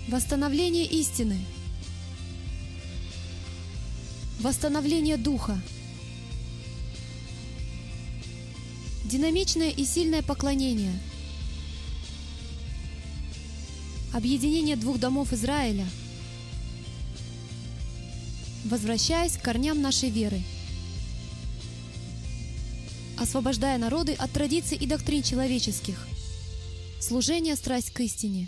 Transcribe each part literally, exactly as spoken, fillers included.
Восстановление истины. Восстановление духа. Динамичное и сильное поклонение. Объединение двух домов Израиля. Возвращаясь к корням нашей веры. Освобождая народы от традиций и доктрин человеческих. Служение, страсть к истине.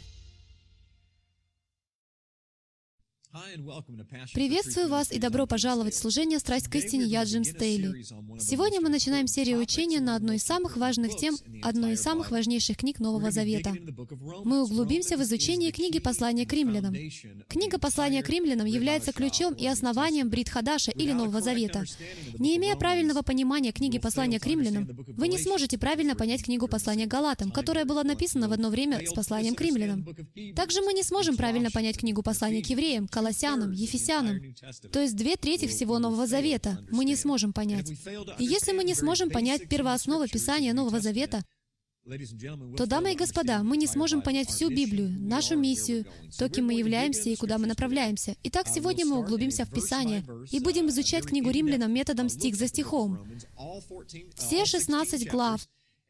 Приветствую вас и добро пожаловать в служение «Страсть к истине». Я Джим Стейли. Сегодня мы начинаем серию учения на одной из самых важных тем, одной из самых важнейших книг Нового Завета. Мы углубимся в изучение книги «Послание к римлянам». Книга «Послание к римлянам» является ключом и основанием Брит Хадаша или Нового Завета. Не имея правильного понимания книги «Послание к римлянам», вы не сможете правильно понять книгу «Послание к Галатам», которая была написана в одно время с «Посланием к римлянам». Также мы не сможем правильно понять книгу «Послание к евреям», Колоссянам, Ефесянам, то есть две трети всего Нового Завета, мы не сможем понять. И если мы не сможем понять первоосновы Писания Нового Завета, то, дамы и господа, мы не сможем понять всю Библию, нашу миссию, то, кем мы являемся и куда мы направляемся. Итак, сегодня мы углубимся в Писание и будем изучать книгу Римлянам методом стих за стихом. Все шестнадцать глав.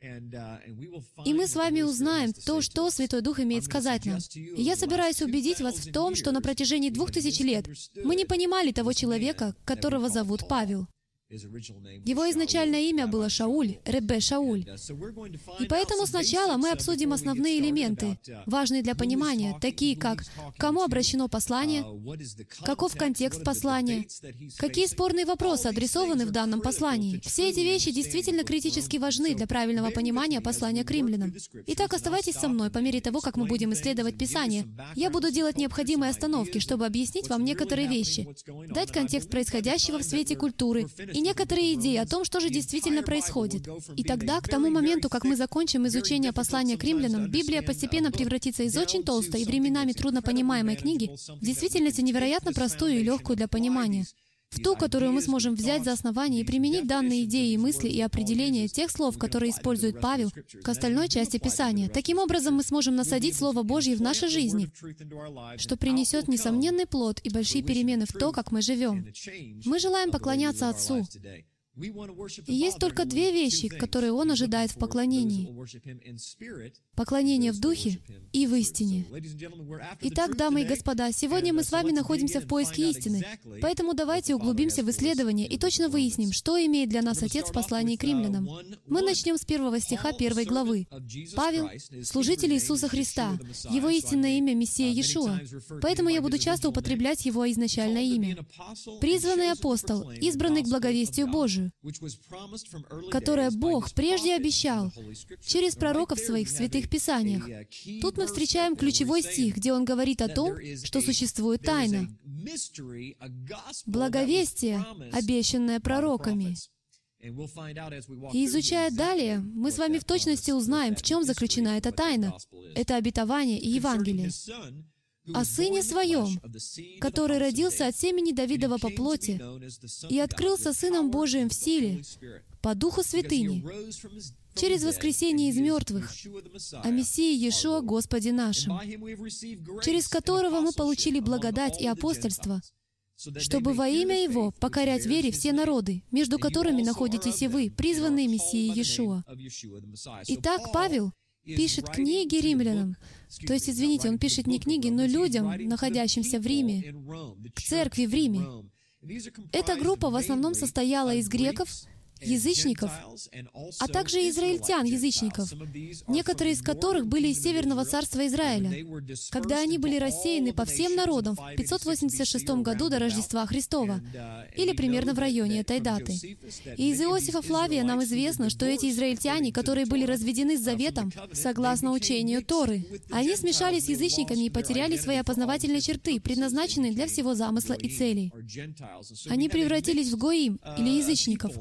И мы с вами узнаем то, что Святой Дух имеет сказать нам. И я собираюсь убедить вас в том, что на протяжении двух тысяч лет мы не понимали того человека, которого зовут Павел. Его изначальное имя было Шауль, Ребе Шауль. И поэтому сначала мы обсудим основные элементы, важные для понимания, такие как к кому обращено послание, каков контекст послания, какие спорные вопросы адресованы в данном послании. Все эти вещи действительно критически важны для правильного понимания послания к римлянам. Итак, оставайтесь со мной по мере того, как мы будем исследовать Писание. Я буду делать необходимые остановки, чтобы объяснить вам некоторые вещи, дать контекст происходящего в свете культуры, и некоторые идеи о том, что же действительно происходит. И тогда, к тому моменту, как мы закончим изучение послания к римлянам, Библия постепенно превратится из очень толстой и временами труднопонимаемой книги в действительности невероятно простую и легкую для понимания, в ту, которую мы сможем взять за основание и применить данные идеи и мысли и определения тех слов, которые использует Павел, к остальной части Писания. Таким образом, мы сможем насадить Слово Божье в нашей жизни, что принесет несомненный плод и большие перемены в то, как мы живем. Мы желаем поклоняться Отцу. И есть только две вещи, которые Он ожидает в поклонении. Поклонение в Духе и в истине. Итак, дамы и господа, сегодня мы с вами находимся в поиске истины, поэтому давайте углубимся в исследование и точно выясним, что имеет для нас Отец в послании к римлянам. Мы начнем с первого стиха первой главы. Павел — служитель Иисуса Христа, его истинное имя — Мессия Иешуа, поэтому я буду часто употреблять его изначальное имя. Призванный апостол, избранный к благовестию Божию, которое Бог прежде обещал через пророков своих в Святых Писаниях. Тут мы встречаем ключевой стих, где он говорит о том, что существует тайна, благовестие, обещанное пророками. И изучая далее, мы с вами в точности узнаем, в чем заключена эта тайна. Это обетование и Евангелие. О Сыне Своем, который родился от семени Давидова по плоти и открылся Сыном Божиим в силе, по Духу Святыни, через воскресение из мертвых, о Мессии Иешуа Господе нашим, через которого мы получили благодать и апостольство, чтобы во имя Его покорять вере все народы, между которыми находитесь и вы, призванные Мессией Иешуа. Итак, Павел пишет книги римлянам, то есть, извините, он пишет не книги, но людям, находящимся в Риме, к церкви в Риме. Эта группа в основном состояла из греков, язычников, а также израильтян, язычников, некоторые из которых были из Северного царства Израиля, когда они были рассеяны по всем народам в пятьсот восемьдесят шестом году до Рождества Христова, или примерно в районе этой даты. И из Иосифа Флавия нам известно, что эти израильтяне, которые были разведены с заветом, согласно учению Торы, они смешались с язычниками и потеряли свои опознавательные черты, предназначенные для всего замысла и целей. Они превратились в гоим, или язычников.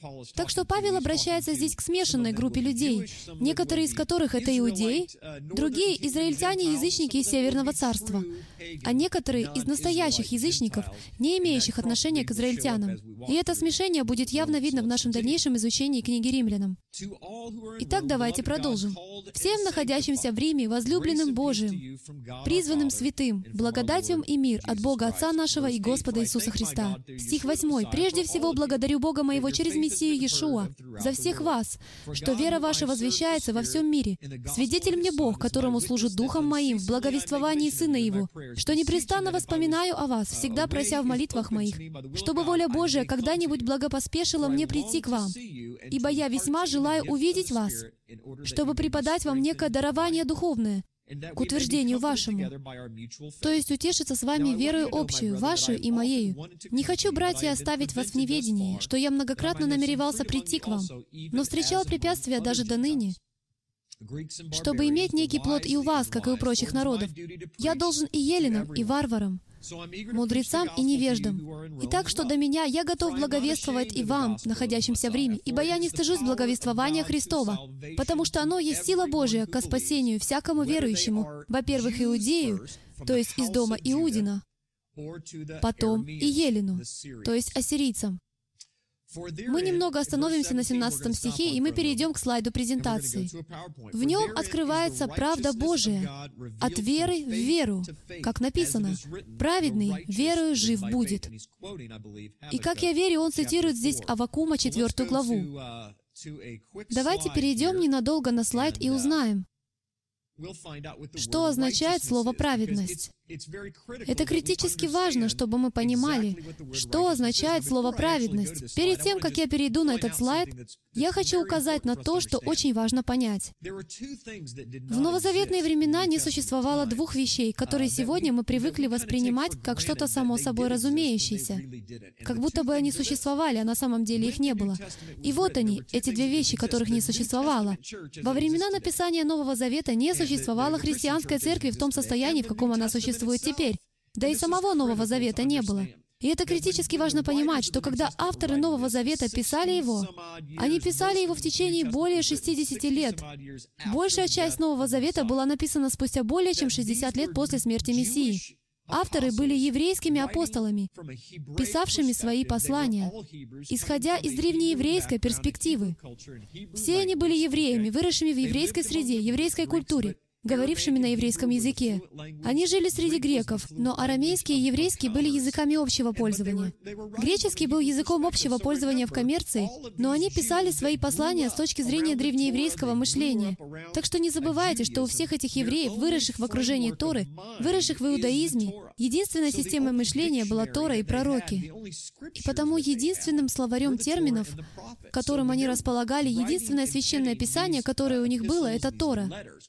Так что Павел обращается здесь к смешанной группе людей, некоторые из которых — это иудеи, другие — израильтяне, язычники из Северного царства, а некоторые из настоящих язычников, не имеющих отношения к израильтянам. И это смешение будет явно видно в нашем дальнейшем изучении книги Римлянам. Итак, давайте продолжим. Всем находящимся в Риме, возлюбленным Божиим, призванным святым, благодатью и мир от Бога Отца нашего и Господа Иисуса Христа. Стих восьмой. «Прежде всего благодарю Бога моего через Мессию Иешуа за всех вас, что вера ваша возвещается во всем мире. Свидетель мне Бог, которому служит Духом моим в благовествовании Сына Его, что непрестанно воспоминаю о вас, всегда прося в молитвах моих, чтобы воля Божия когда-нибудь благопоспешила мне прийти к вам, ибо я весьма желаю увидеть вас, чтобы преподать вам некое дарование духовное, к утверждению вашему, то есть утешиться с вами верою общую, вашу и моею. Не хочу, братья, оставить вас в неведении, что я многократно намеревался прийти к вам, но встречал препятствия даже до ныне, чтобы иметь некий плод и у вас, как и у прочих народов. Я должен и еленам, и варварам, мудрецам и невеждам. И так, что до меня, я готов благовествовать и вам, находящимся в Риме, ибо я не стыжусь благовествования Христова, потому что оно есть сила Божия ко спасению всякому верующему, во-первых, иудею, то есть из дома Иудина, потом и елену, то есть ассирийцам. Мы немного остановимся на семнадцатом стихе, и мы перейдем к слайду презентации. В нем открывается правда Божия от веры в веру, как написано, «Праведный верою жив будет». И как я верю, он цитирует здесь Аввакума, четвертую главу. Давайте перейдем ненадолго на слайд и узнаем, что означает слово «праведность». Это критически важно, чтобы мы понимали, что означает слово «праведность». Перед тем, как я перейду на этот слайд, я хочу указать на то, что очень важно понять. В новозаветные времена не существовало двух вещей, которые сегодня мы привыкли воспринимать как что-то само собой разумеющееся, как будто бы они существовали, а на самом деле их не было. И вот они, эти две вещи, которых не существовало. Во времена написания Нового Завета не существовало христианской церкви в том состоянии, в каком она существует теперь. Да и самого Нового Завета не было. И это критически важно понимать, что когда авторы Нового Завета писали его, они писали его в течение более шестидесяти лет. Большая часть Нового Завета была написана спустя более чем шестьдесят лет после смерти Мессии. Авторы были еврейскими апостолами, писавшими свои послания, исходя из древнееврейской перспективы. Все они были евреями, выросшими в еврейской среде, еврейской культуре, говорившими на еврейском языке. Они жили среди греков, но арамейский и еврейский были языками общего пользования. Греческий был языком общего пользования в коммерции, но они писали свои послания с точки зрения древнееврейского мышления. Так что не забывайте, что у всех этих евреев, выросших в окружении Торы, выросших в иудаизме, единственной системой мышления была Тора и пророки. И потому единственным словарем терминов, которым они располагали, единственное священное писание, которое у них было, это Тора.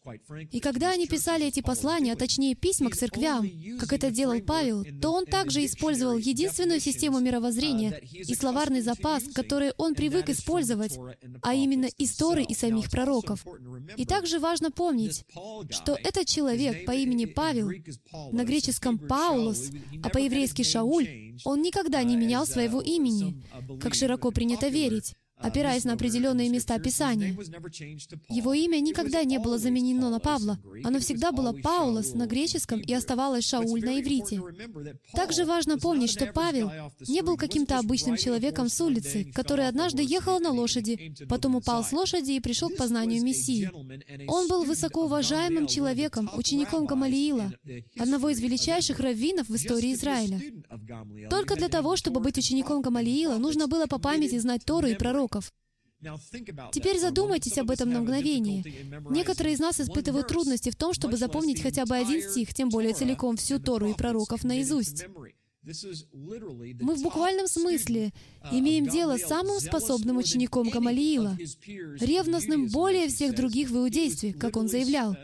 И когда они писали эти послания, а точнее письма к церквям, как это делал Павел, то он также использовал единственную систему мировоззрения и словарный запас, который он привык использовать, а именно из Торы и самих пророков. И также важно помнить, что этот человек по имени Павел, на греческом «Паулос», а по-еврейски «Шауль», он никогда не менял своего имени, как широко принято верить, опираясь на определенные места Писания. Его имя никогда не было заменено на Павла. Оно всегда было Паулос на греческом и оставалось Шауль на иврите. Также важно помнить, что Павел не был каким-то обычным человеком с улицы, который однажды ехал на лошади, потом упал с лошади и пришел к познанию Мессии. Он был высокоуважаемым человеком, учеником Гамалиила, одного из величайших раввинов в истории Израиля. Только для того, чтобы быть учеником Гамалиила, нужно было по памяти знать Тору и пророков. Теперь задумайтесь об этом на мгновение. Некоторые из нас испытывают трудности в том, чтобы запомнить хотя бы один стих, тем более целиком всю Тору и пророков наизусть. Мы в буквальном смысле имеем дело с самым способным учеником Гамалиила, ревностным более всех других в иудействе, как он заявлял.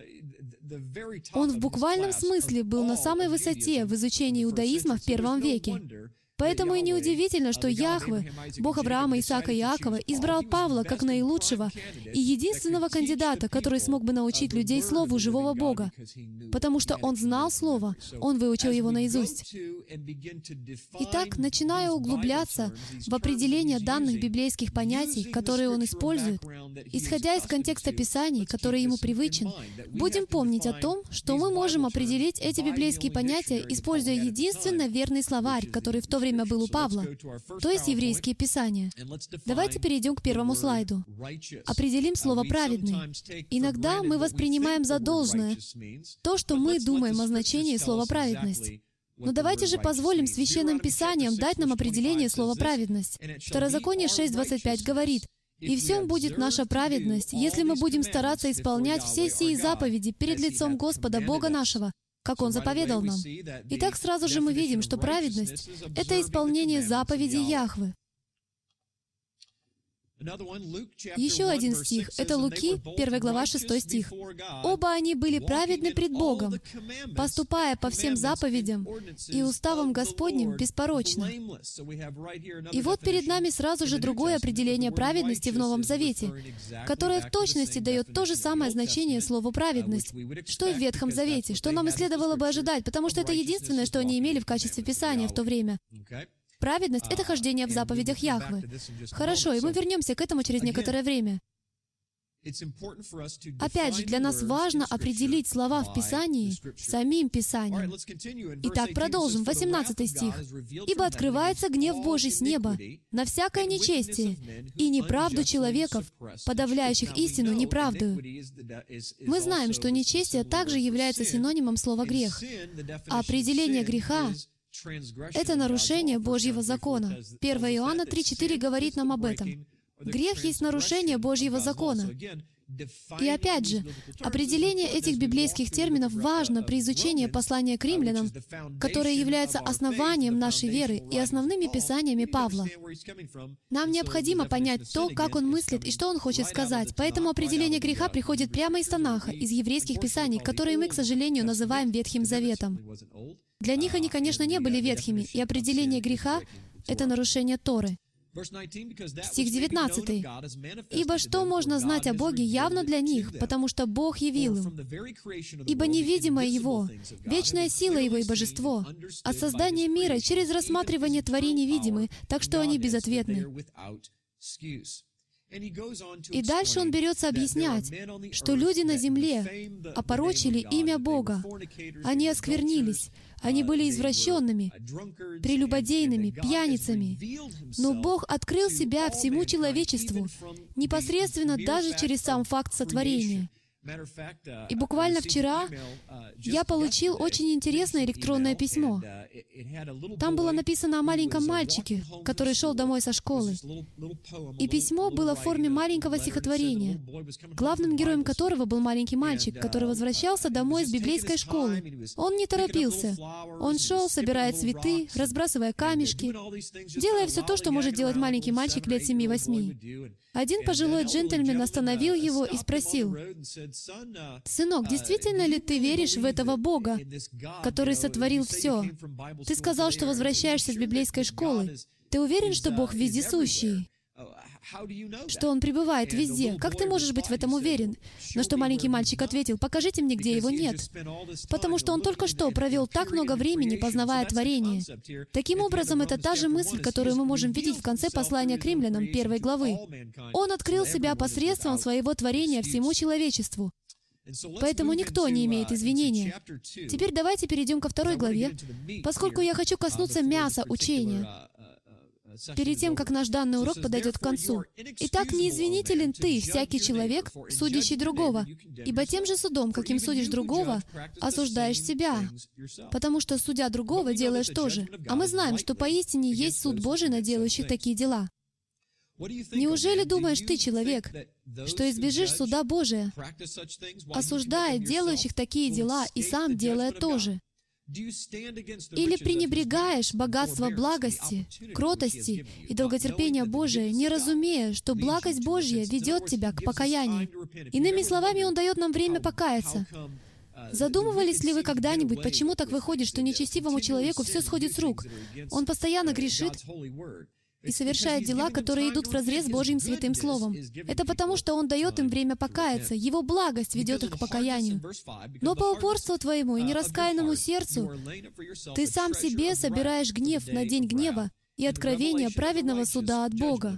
Он в буквальном смысле был на самой высоте в изучении иудаизма в первом веке. Поэтому и неудивительно, что Яхве, Бог Авраама, Исаака и Иакова, избрал Павла как наилучшего и единственного кандидата, который смог бы научить людей Слову живого Бога, потому что он знал Слово, он выучил его наизусть. Итак, начиная углубляться в определение данных библейских понятий, которые он использует, исходя из контекста Писаний, который ему привычен, будем помнить о том, что мы можем определить эти библейские понятия, используя единственно верный словарь, который в то время был у Павла, то есть еврейские писания. Давайте перейдем к первому слайду. Определим слово «праведный». Иногда мы воспринимаем за должное то, что мы думаем о значении слова «праведность». Но давайте же позволим Священным Писаниям дать нам определение слова «праведность». Второзаконие шесть двадцать пять говорит: «И в всем будет наша праведность, если мы будем стараться исполнять все сии заповеди перед лицом Господа Бога нашего, как Он заповедал нам». Итак, сразу же мы видим, что праведность — это исполнение заповедей Яхвы. Еще один стих — это Луки, первая глава, шестой стих. «Оба они были праведны пред Богом, поступая по всем заповедям и уставам Господним беспорочно». И вот перед нами сразу же другое определение праведности в Новом Завете, которое в точности дает то же самое значение слову «праведность», что и в Ветхом Завете, что нам и следовало бы ожидать, потому что это единственное, что они имели в качестве Писания в то время. Праведность — это хождение в заповедях Яхвы. Хорошо, и мы вернемся к этому через некоторое время. Опять же, для нас важно определить слова в Писании самим Писанием. Итак, продолжим. восемнадцатый стих. «Ибо открывается гнев Божий с неба на всякое нечестие и неправду человеков, подавляющих истину неправдою». Мы знаем, что нечестие также является синонимом слова «грех». А определение греха — это нарушение Божьего закона. первое Иоанна три четыре говорит нам об этом. Грех есть нарушение Божьего закона. И опять же, определение этих библейских терминов важно при изучении послания к римлянам, которое является основанием нашей веры и основными писаниями Павла. Нам необходимо понять то, как он мыслит и что он хочет сказать, поэтому определение греха приходит прямо из Танаха, из еврейских писаний, которые мы, к сожалению, называем Ветхим Заветом. Для них они, конечно, не были ветхими, и определение греха — это нарушение Торы. Стих девятнадцатый. «Ибо что можно знать о Боге явно для них, потому что Бог явил им? Ибо невидимое Его, вечная сила Его и божество, от создания мира через рассматривание творений видимы, так что они безответны». И дальше он берется объяснять, что люди на земле опорочили имя Бога. Они осквернились, они были извращенными, прелюбодейными, пьяницами. Но Бог открыл себя всему человечеству, непосредственно даже через сам факт сотворения. И буквально вчера я получил очень интересное электронное письмо. Там было написано о маленьком мальчике, который шел домой со школы. И письмо было в форме маленького стихотворения, главным героем которого был маленький мальчик, который возвращался домой с библейской школы. Он не торопился. Он шел, собирая цветы, разбрасывая камешки, делая все то, что может делать маленький мальчик лет семи-восьми. Один пожилой джентльмен остановил его и спросил: «Сынок, действительно ли ты веришь в этого Бога, который сотворил все? Ты сказал, что возвращаешься с библейской школы. Ты уверен, что Бог вездесущий? Что Он пребывает везде? Как ты можешь быть в этом уверен?» На что маленький мальчик ответил: «Покажите мне, где Его нет». Потому что он только что провел так много времени, познавая творение. Таким образом, это та же мысль, которую мы можем видеть в конце послания к римлянам первой главы. Он открыл себя посредством своего творения всему человечеству. Поэтому никто не имеет извинения. Теперь давайте перейдем ко второй главе, поскольку я хочу коснуться мяса учения, перед тем, как наш данный урок подойдет к концу. «Итак, не извинителен ты, всякий человек, судящий другого, ибо тем же судом, каким судишь другого, осуждаешь себя, потому что, судя другого, делаешь то же. А мы знаем, что поистине есть суд Божий на делающих такие дела». Неужели думаешь ты, человек, что избежишь суда Божия, осуждая делающих такие дела и сам делая то же? Или пренебрегаешь богатство благости, кротости и долготерпения Божия, не разумея, что благость Божья ведет тебя к покаянию? Иными словами, Он дает нам время покаяться. Задумывались ли вы когда-нибудь, почему так выходит, что нечестивому человеку все сходит с рук? Он постоянно грешит и совершает дела, которые идут вразрез с Божьим святым словом. Это потому, что Он дает им время покаяться. Его благость ведет их к покаянию. Но по упорству твоему и нераскаянному сердцу ты сам себе собираешь гнев на день гнева и откровение праведного суда от Бога,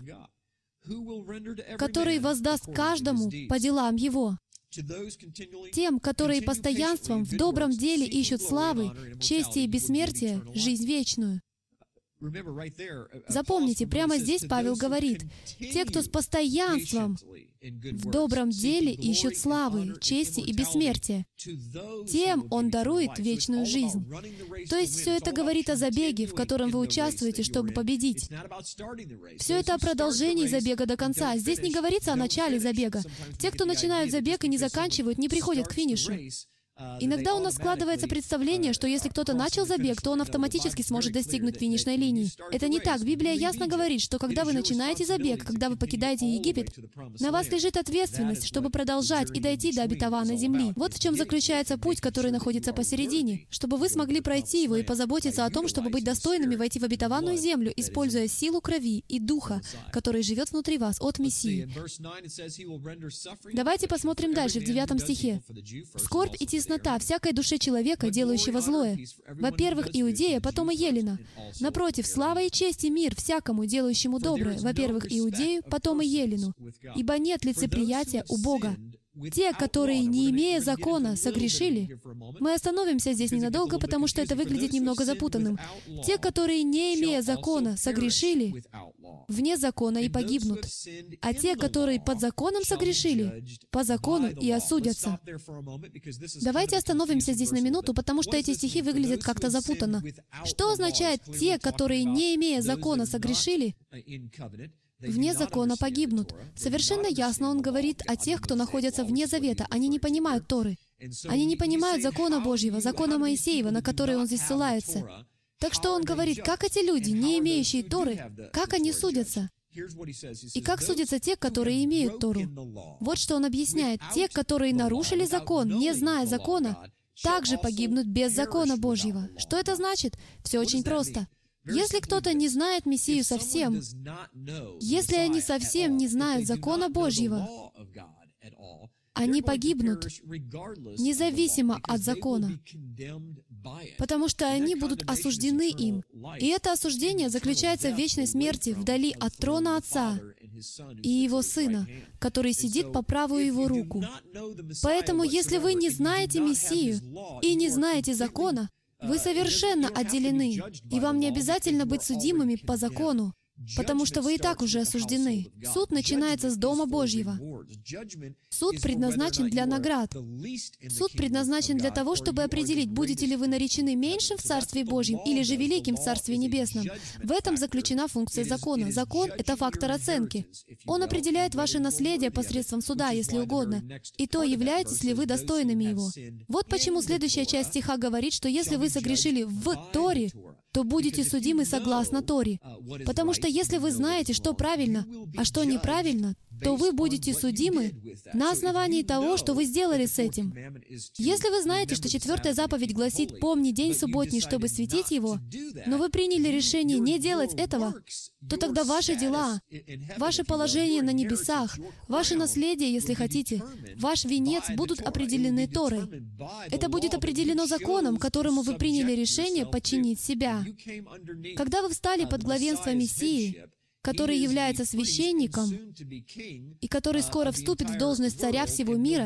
который воздаст каждому по делам его. Тем, которые постоянством в добром деле ищут славы, чести и бессмертия, жизнь вечную. Запомните, прямо здесь Павел говорит, те, кто с постоянством в добром деле ищут славы, чести и бессмертия, тем Он дарует вечную жизнь. То есть все это говорит о забеге, в котором вы участвуете, чтобы победить. Все это о продолжении забега до конца. Здесь не говорится о начале забега. Те, кто начинают забег и не заканчивают, не приходят к финишу. Иногда у нас складывается представление, что если кто-то начал забег, то он автоматически сможет достигнуть финишной линии. Это не так. Библия ясно говорит, что когда вы начинаете забег, когда вы покидаете Египет, на вас лежит ответственность, чтобы продолжать и дойти до обетованной земли. Вот в чем заключается путь, который находится посередине, чтобы вы смогли пройти его и позаботиться о том, чтобы быть достойными войти в обетованную землю, используя силу крови и духа, который живет внутри вас от Мессии. Давайте посмотрим дальше, в девятом стихе. «Скорбь и теснота всякой душе человека, делающего злое. Во-первых, Иудея, потом и Елена. Напротив, слава и честь и мир всякому, делающему доброе. Во-первых, Иудею, потом и Елену. Ибо нет лицеприятия у Бога. Те, которые, не имея закона, согрешили». Мы остановимся здесь ненадолго, потому что это выглядит немного запутанным. «Те, которые, не имея закона, согрешили, вне закона и погибнут. А те, которые под законом согрешили, по закону и осудятся». Давайте остановимся здесь на минуту, потому что эти стихи выглядят как-то запутанно. Что означает «те, которые, не имея закона, согрешили, вне закона погибнут»? Совершенно ясно он говорит о тех, кто находится вне завета. Они не понимают Торы. Они не понимают закона Божьего, закона Моисеева, на который он здесь ссылается. Так что он говорит, как эти люди, не имеющие Торы, как они судятся? И как судятся те, которые имеют Тору? Вот что он объясняет. Те, которые нарушили закон, не зная закона, также погибнут без закона Божьего. Что это значит? Все очень просто. Если кто-то не знает Мессию совсем, если они совсем не знают закона Божьего, они погибнут, независимо от закона, потому что они будут осуждены им. И это осуждение заключается в вечной смерти вдали от трона Отца и Его Сына, который сидит по правую Его руку. Поэтому, если вы не знаете Мессию и не знаете закона, вы совершенно отделены, и вам не обязательно быть судимыми по закону, потому что вы и так уже осуждены. Суд начинается с Дома Божьего. Суд предназначен для наград. Суд предназначен для того, чтобы определить, будете ли вы наречены меньшим в Царстве Божьем или же великим в Царстве Небесном. В этом заключена функция закона. Закон — это фактор оценки. Он определяет ваше наследие посредством суда, если угодно, и то, являетесь ли вы достойными его. Вот почему следующая часть стиха говорит, что если вы согрешили в Торе, то будете судимы согласно Торе. Потому что если вы знаете, что правильно, а что неправильно, то вы будете судимы на основании того, что вы сделали с этим. Если вы знаете, что четвертая заповедь гласит «Помни день субботний, чтобы светить его», но вы приняли решение не делать этого, то тогда ваши дела, ваше положение на небесах, ваше наследие, если хотите, ваш венец будут определены Торой. Это будет определено законом, которому вы приняли решение подчинить себя. Когда вы встали под главенство Мессии, который является священником и который скоро вступит в должность царя всего мира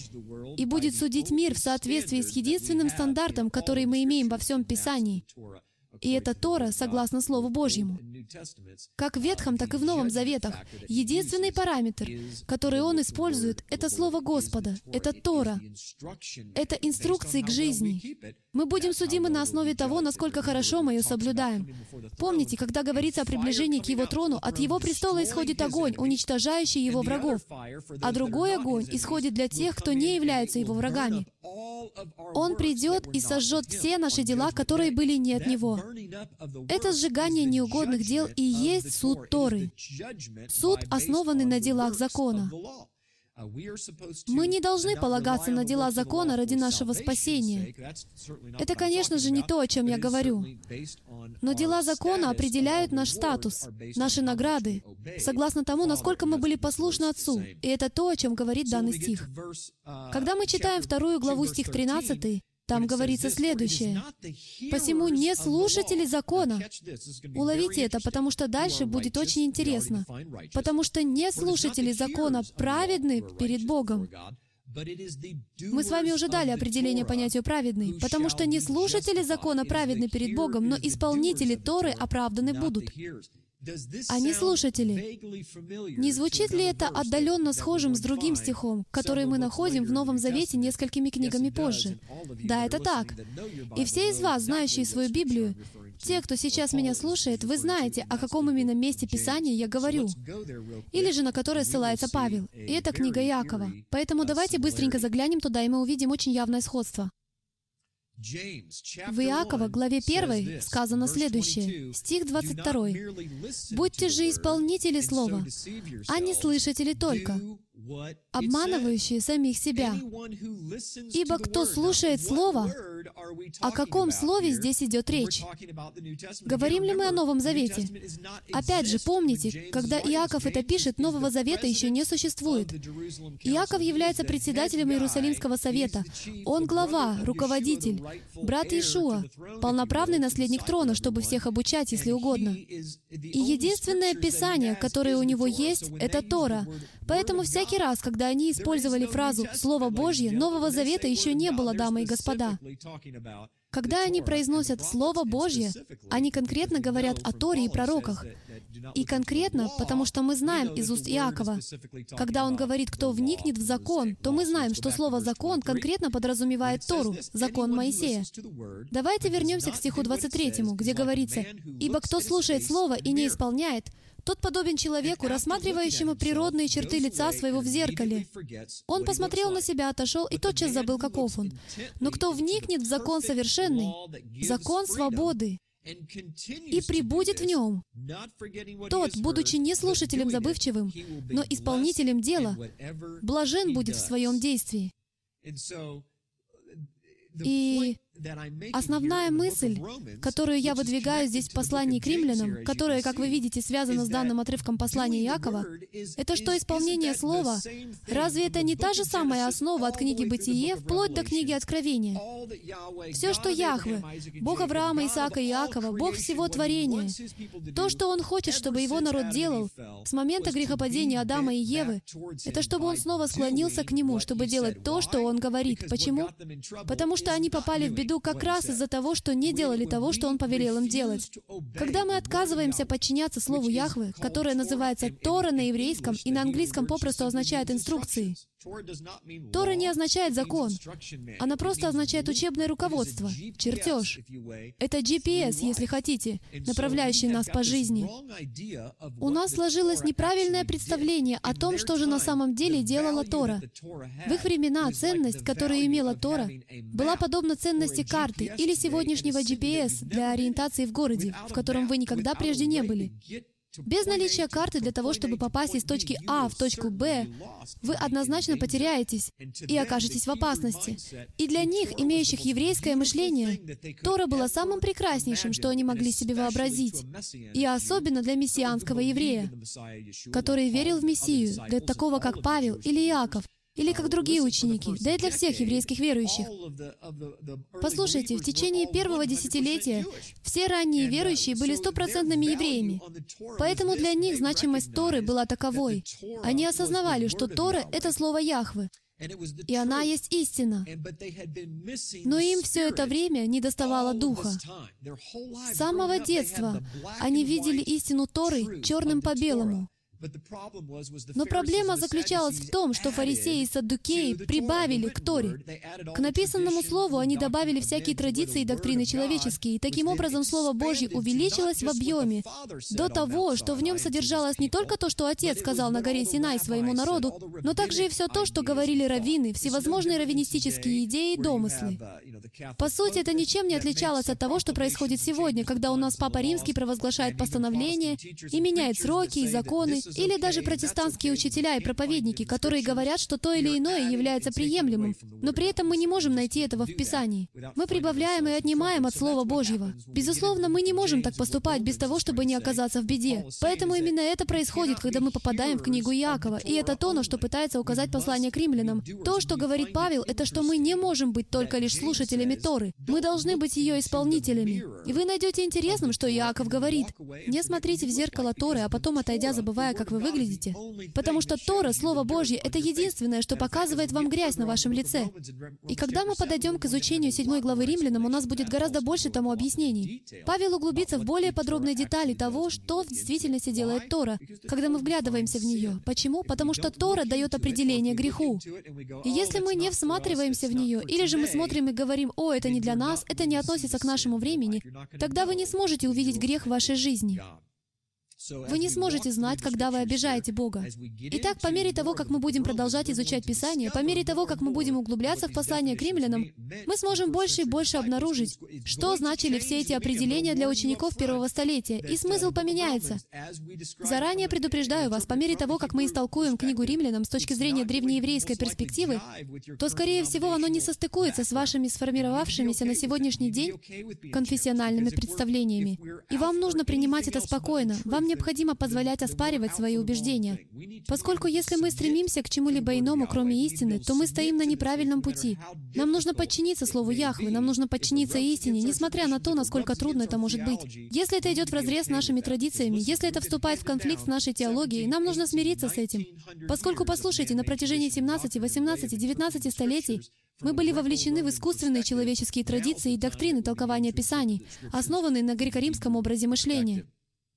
и будет судить мир в соответствии с единственным стандартом, который мы имеем во всем Писании. И это Тора, согласно Слову Божьему. Как в Ветхом, так и в Новом Заветах. Единственный параметр, который он использует, это Слово Господа, это Тора. Это инструкции к жизни. Мы будем судимы на основе того, насколько хорошо мы ее соблюдаем. Помните, когда говорится о приближении к Его трону, от Его престола исходит огонь, уничтожающий Его врагов, а другой огонь исходит для тех, кто не является Его врагами. Он придет и сожжет все наши дела, которые были не от Него. Это сжигание неугодных дел и есть суд Торы. Суд, основанный на делах закона. Мы не должны полагаться на дела закона ради нашего спасения. Это, конечно же, не то, о чем я говорю. Но дела закона определяют наш статус, наши награды, согласно тому, насколько мы были послушны Отцу. И это то, о чем говорит данный стих. Когда мы читаем вторую главу, стих тринадцатый, там говорится следующее. «Посему не слушатели закона». Уловите это, потому что дальше будет очень интересно. «Потому что не слушатели закона праведны перед Богом». Мы с вами уже дали определение понятию «праведный», потому что не слушатели закона праведны перед Богом, но исполнители Торы оправданы будут. А не слушатели. Не звучит ли это отдаленно схожим с другим стихом, который мы находим в Новом Завете несколькими книгами позже? Да, это так. И все из вас, знающие свою Библию, те, кто сейчас меня слушает, вы знаете, о каком именно месте Писания я говорю, или же на которое ссылается Павел. И это книга Иакова. Поэтому давайте быстренько заглянем туда, и мы увидим очень явное сходство. В Иакова, главе первой, сказано следующее, стих двадцать второй. «Будьте же исполнители слова, а не слышатели только, обманывающие самих себя. Ибо кто слушает Слово, о каком Слове здесь идет речь? Говорим ли мы о Новом Завете? Опять же, помните, когда Иаков это пишет, Нового Завета еще не существует. Иаков является председателем Иерусалимского совета. Он глава, руководитель, брат Иешуа, полноправный наследник трона, чтобы всех обучать, если угодно. И единственное Писание, которое у него есть, это Тора. Поэтому всякий раз, когда они использовали фразу «Слово Божье», Нового Завета еще не было, дамы и господа. Когда они произносят «Слово Божье», они конкретно говорят о Торе и пророках. И конкретно, потому что мы знаем из уст Иакова, когда он говорит, кто вникнет в закон, то мы знаем, что слово «закон» конкретно подразумевает Тору, закон Моисея. Давайте вернемся к стиху двадцать третьему, где говорится, «Ибо кто слушает слово и не исполняет, тот подобен человеку, рассматривающему природные черты лица своего в зеркале. Он посмотрел на себя, отошел и тотчас забыл, каков он. Но кто вникнет в закон совершенный, закон свободы, и пребудет в нем, тот, будучи не слушателем забывчивым, но исполнителем дела, блажен будет в своем действии». И основная мысль, которую я выдвигаю здесь в послании к римлянам, которая, как вы видите, связана с данным отрывком послания Иакова, это что исполнение Слова, разве это не та же самая основа от книги Бытие вплоть до книги Откровения? Все, что Яхве, Бог Авраама, Исаака и Иакова, Бог всего творения, то, что Он хочет, чтобы Его народ делал с момента грехопадения Адама и Евы, это чтобы Он снова склонился к Нему, чтобы делать то, что Он говорит. Почему? Потому что они попали в беду как раз из-за того, что не делали того, что Он повелел им делать. Когда мы отказываемся подчиняться Слову Яхве, которое называется Тора на еврейском и на английском попросту означает инструкции. Тора не означает закон. Она просто означает учебное руководство, чертеж. Это джи пи эс, если хотите, направляющий нас по жизни. У нас сложилось неправильное представление о том, что же на самом деле делала Тора. В их времена ценность, которую имела Тора, была подобна ценности карты или сегодняшнего джи пи эс для ориентации в городе, в котором вы никогда прежде не были. Без наличия карты для того, чтобы попасть из точки А в точку Б, вы однозначно потеряетесь и окажетесь в опасности. И для них, имеющих еврейское мышление, Тора была самым прекраснейшим, что они могли себе вообразить. И особенно для мессианского еврея, который верил в Мессию, для такого, как Павел или Иаков, или как другие ученики, да и для всех еврейских верующих. Послушайте, в течение первого десятилетия все ранние верующие были стопроцентными евреями. Поэтому для них значимость Торы была таковой. Они осознавали, что Тора — это слово Яхве, и она есть истина. Но им все это время недоставало Духа. С самого детства они видели истину Торы черным по белому. Но проблема заключалась в том, что фарисеи и саддукеи прибавили к Торе. К написанному слову они добавили всякие традиции и доктрины человеческие, и таким образом Слово Божье увеличилось в объеме до того, что в нем содержалось не только то, что Отец сказал на горе Синай своему народу, но также и все то, что говорили раввины, всевозможные раввинистические идеи и домыслы. По сути, это ничем не отличалось от того, что происходит сегодня, когда у нас Папа Римский провозглашает постановления и меняет сроки и законы, или даже протестантские учителя и проповедники, которые говорят, что то или иное является приемлемым, но при этом мы не можем найти этого в Писании. Мы прибавляем и отнимаем от Слова Божьего. Безусловно, мы не можем так поступать без того, чтобы не оказаться в беде. Поэтому именно это происходит, когда мы попадаем в книгу Иакова, и это то, на что пытается указать послание к римлянам. То, что говорит Павел, это что мы не можем быть только лишь слушателями Торы. Мы должны быть ее исполнителями. И вы найдете интересным, что Иаков говорит: «Не смотрите в зеркало Торы, а потом, отойдя, забывая, как вы выглядите». Потому что Тора, Слово Божье, это единственное, что показывает вам грязь на вашем лице. И когда мы подойдем к изучению седьмой главы Римлянам, у нас будет гораздо больше тому объяснений. Павел углубится в более подробные детали того, что в действительности делает Тора, когда мы вглядываемся в нее. Почему? Потому что Тора дает определение греху. И если мы не всматриваемся в нее, или же мы смотрим и говорим: «О, это не для нас, это не относится к нашему времени», тогда вы не сможете увидеть грех в вашей жизни. Вы не сможете знать, когда вы обижаете Бога. Итак, по мере того, как мы будем продолжать изучать Писание, по мере того, как мы будем углубляться в послание к римлянам, мы сможем больше и больше обнаружить, что значили все эти определения для учеников первого столетия, и смысл поменяется. Заранее предупреждаю вас, по мере того, как мы истолкуем книгу Римлянам с точки зрения древнееврейской перспективы, то, скорее всего, оно не состыкуется с вашими сформировавшимися на сегодняшний день конфессиональными представлениями. И вам нужно принимать это спокойно. Вам необходимо позволять оспаривать свои убеждения. Поскольку если мы стремимся к чему-либо иному, кроме истины, то мы стоим на неправильном пути. Нам нужно подчиниться Слову Яхве, нам нужно подчиниться истине, несмотря на то, насколько трудно это может быть. Если это идет вразрез с нашими традициями, если это вступает в конфликт с нашей теологией, нам нужно смириться с этим. Поскольку, послушайте, на протяжении семнадцати, восемнадцати, девятнадцати столетий мы были вовлечены в искусственные человеческие традиции и доктрины толкования Писаний, основанные на греко-римском образе мышления.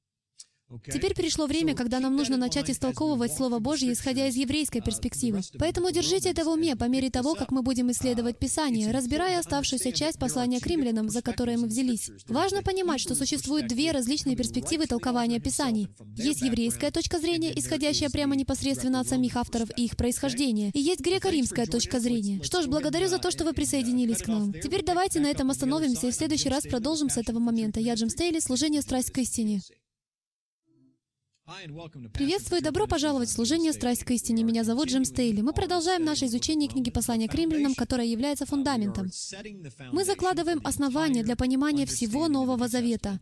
Теперь пришло время, когда нам нужно начать истолковывать Слово Божье, исходя из еврейской перспективы. Поэтому держите это в уме по мере того, как мы будем исследовать Писание, разбирая оставшуюся часть послания к римлянам, за которое мы взялись. Важно понимать, что существуют две различные перспективы толкования Писаний. Есть еврейская точка зрения, исходящая прямо непосредственно от самих авторов и их происхождения, и есть греко-римская точка зрения. Что ж, благодарю за то, что вы присоединились к нам. Теперь давайте на этом остановимся и в следующий раз продолжим с этого момента. Я Джим Стейли, служение «Страсть к истине». Приветствую и добро пожаловать в служение «Страсть к истине». Меня зовут Джим Стейли. Мы продолжаем наше изучение книги послания к римлянам, которая является фундаментом. Мы закладываем основания для понимания всего Нового Завета.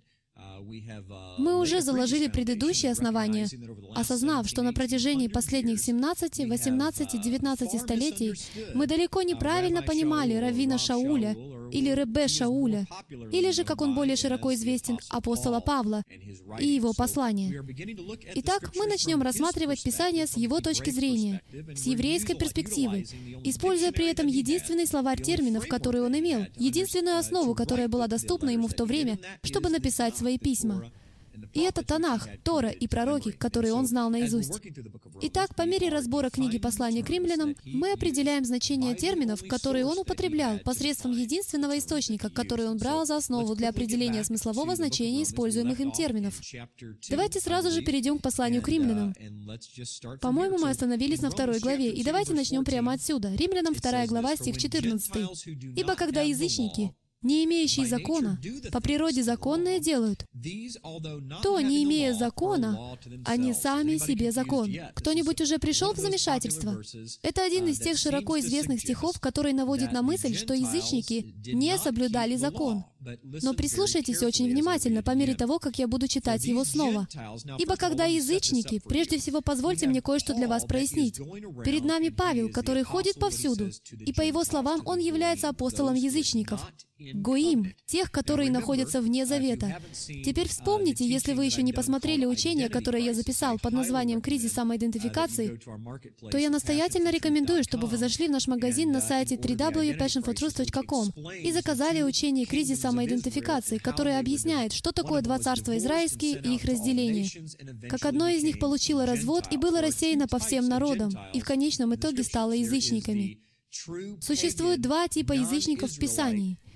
Мы уже заложили предыдущие основания, осознав, что на протяжении последних семнадцати, восемнадцати, девятнадцати столетий мы далеко неправильно понимали раввина Шауля или Ребе Шауля, или же, как он более широко известен, апостола Павла и его послания. Итак, мы начнем рассматривать Писание с его точки зрения, с еврейской перспективы, используя при этом единственный словарь терминов, который он имел, единственную основу, которая была доступна ему в то время, чтобы написать свои письма. И это Танах, Тора и пророки, которые он знал наизусть. Итак, по мере разбора книги послания к римлянам, мы определяем значение терминов, которые он употреблял, посредством единственного источника, который он брал за основу для определения смыслового значения используемых им терминов. Давайте сразу же перейдем к посланию к римлянам. По-моему, мы остановились на второй главе, и давайте начнем прямо отсюда. Римлянам вторая глава, стих четырнадцатый. «Ибо когда язычники, не имеющие закона, по природе законное делают, то, не имея закона, они сами себе закон». Кто-нибудь уже пришел в замешательство? Это один из тех широко известных стихов, который наводит на мысль, что язычники не соблюдали закон. Но прислушайтесь очень внимательно по мере того, как я буду читать его снова. «Ибо когда язычники...» Прежде всего, позвольте мне кое-что для вас прояснить. Перед нами Павел, который ходит повсюду, и по его словам, он является апостолом язычников. Гоим, тех, которые находятся вне завета. Теперь вспомните, если вы еще не посмотрели учение, которое я записал под названием «Кризис самоидентификации», то я настоятельно рекомендую, чтобы вы зашли в наш магазин на сайте дабл ю дабл ю дабл ю точка passion for truth точка com и заказали учение «Кризис самоидентификации», которое объясняет, что такое два царства израильские и их разделение. Как одно из них получило развод и было рассеяно по всем народам, и в конечном итоге стало язычниками. Существует два типа язычников в Писании.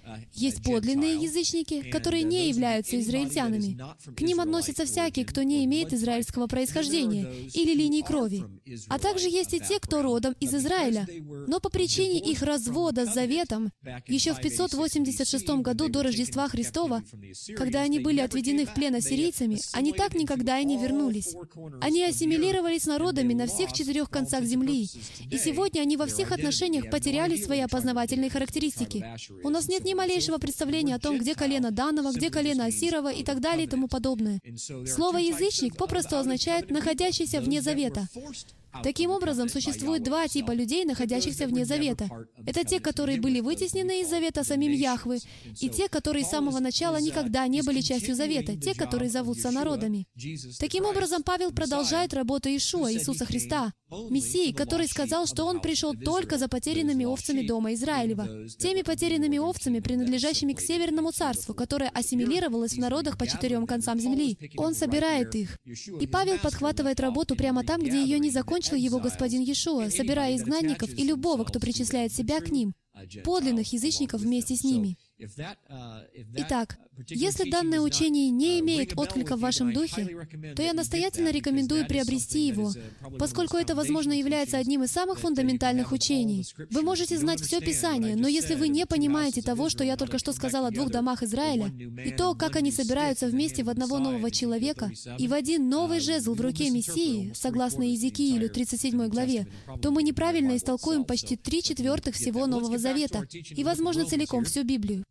Есть подлинные язычники, которые не являются израильтянами. К ним относятся всякие, кто не имеет израильского происхождения или линии крови. А также есть и те, кто родом из Израиля. Но по причине их развода с заветом, еще в пятьсот восемьдесят шестом году до Рождества Христова, когда они были отведены в плен ассирийцами, они так никогда и не вернулись. Они ассимилировались с народами на всех четырех концах земли, и сегодня они во всех отношениях потеряли свои опознавательные характеристики. У нас нет ни малейшего представления о том, где колено Данова, где колено Асирова и так далее и тому подобное. Слово «язычник» попросту означает «находящийся вне завета». Таким образом, существует два типа людей, находящихся вне завета. Это те, которые были вытеснены из завета самим Яхве, и те, которые с самого начала никогда не были частью завета, те, которые зовутся народами. Таким образом, Павел продолжает работу Иешуа, Иисуса Христа, Мессии, который сказал, что Он пришел только за потерянными овцами дома Израилева, теми потерянными овцами, принадлежащими к Северному Царству, которое ассимилировалось в народах по четырем концам земли. Он собирает их. И Павел подхватывает работу прямо там, где ее не закончил его господин Иешуа, собирая изгнанников и любого, кто причисляет себя к ним, подлинных язычников вместе с ними. Итак, если данное учение не имеет отклика в вашем духе, то я настоятельно рекомендую приобрести его, поскольку это, возможно, является одним из самых фундаментальных учений. Вы можете знать все Писание, но если вы не понимаете того, что я только что сказал о двух домах Израиля, и то, как они собираются вместе в одного нового человека и в один новый жезл в руке Мессии, согласно Иезекиилю тридцать седьмой главе, то мы неправильно истолкуем почти три четвертых всего Нового Завета и, возможно, целиком всю Библию.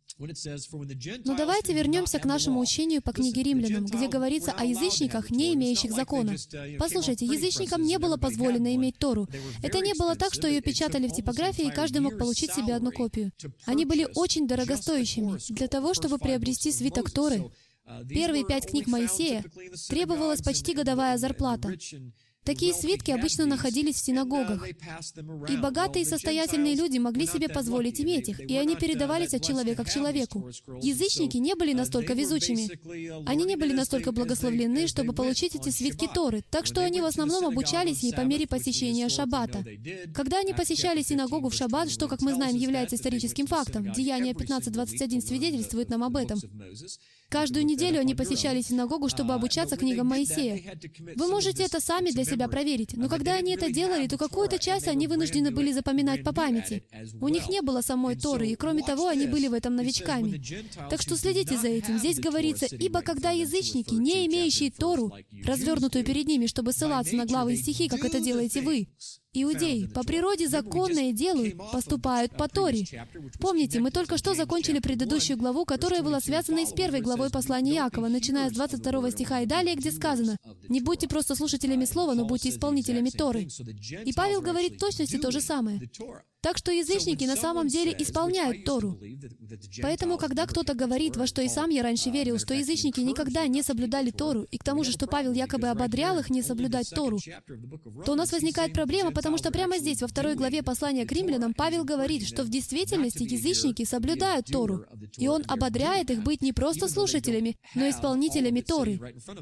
Но давайте вернемся к нашему учению по книге Римлянам, где говорится о язычниках, не имеющих закона. Послушайте, язычникам не было позволено иметь Тору. Это не было так, что ее печатали в типографии, и каждый мог получить себе одну копию. Они были очень дорогостоящими. Для того, чтобы приобрести свиток Торы, первые пять книг Моисея, требовалась почти годовая зарплата. Такие свитки обычно находились в синагогах, и богатые и состоятельные люди могли себе позволить иметь их, и они передавались от человека к человеку. Язычники не были настолько везучими. Они не были настолько благословлены, чтобы получить эти свитки Торы, так что они в основном обучались ей по мере посещения Шаббата. Когда они посещали синагогу в Шаббат, что, как мы знаем, является историческим фактом, Деяния пятнадцать двадцать один свидетельствует нам об этом, каждую неделю они посещали синагогу, чтобы обучаться книгам Моисея. Вы можете это сами для себя проверить, но когда они это делали, то какую-то часть они вынуждены были запоминать по памяти. У них не было самой Торы, и кроме того, они были в этом новичками. Так что следите за этим. Здесь говорится, «Ибо когда язычники, не имеющие Тору, развернутую перед ними, чтобы ссылаться на главы и стихи, как это делаете вы, иудеи, по природе законное делают, поступают по Торе». Помните, мы только что закончили предыдущую главу, которая была связана и с первой главой послания Иакова, начиная с двадцать второго стиха и далее, где сказано, «Не будьте просто слушателями слова, но будьте исполнителями Торы». И Павел говорит в точности то же самое. Так что язычники на самом деле исполняют Тору. Поэтому, когда кто-то говорит, во что и сам я раньше верил, что язычники никогда не соблюдали Тору, и к тому же, что Павел якобы ободрял их не соблюдать Тору, то у нас возникает проблема, потому что прямо здесь, во второй главе послания к римлянам, Павел говорит, что в действительности язычники соблюдают Тору, и он ободряет их быть не просто слушателями, но исполнителями Торы.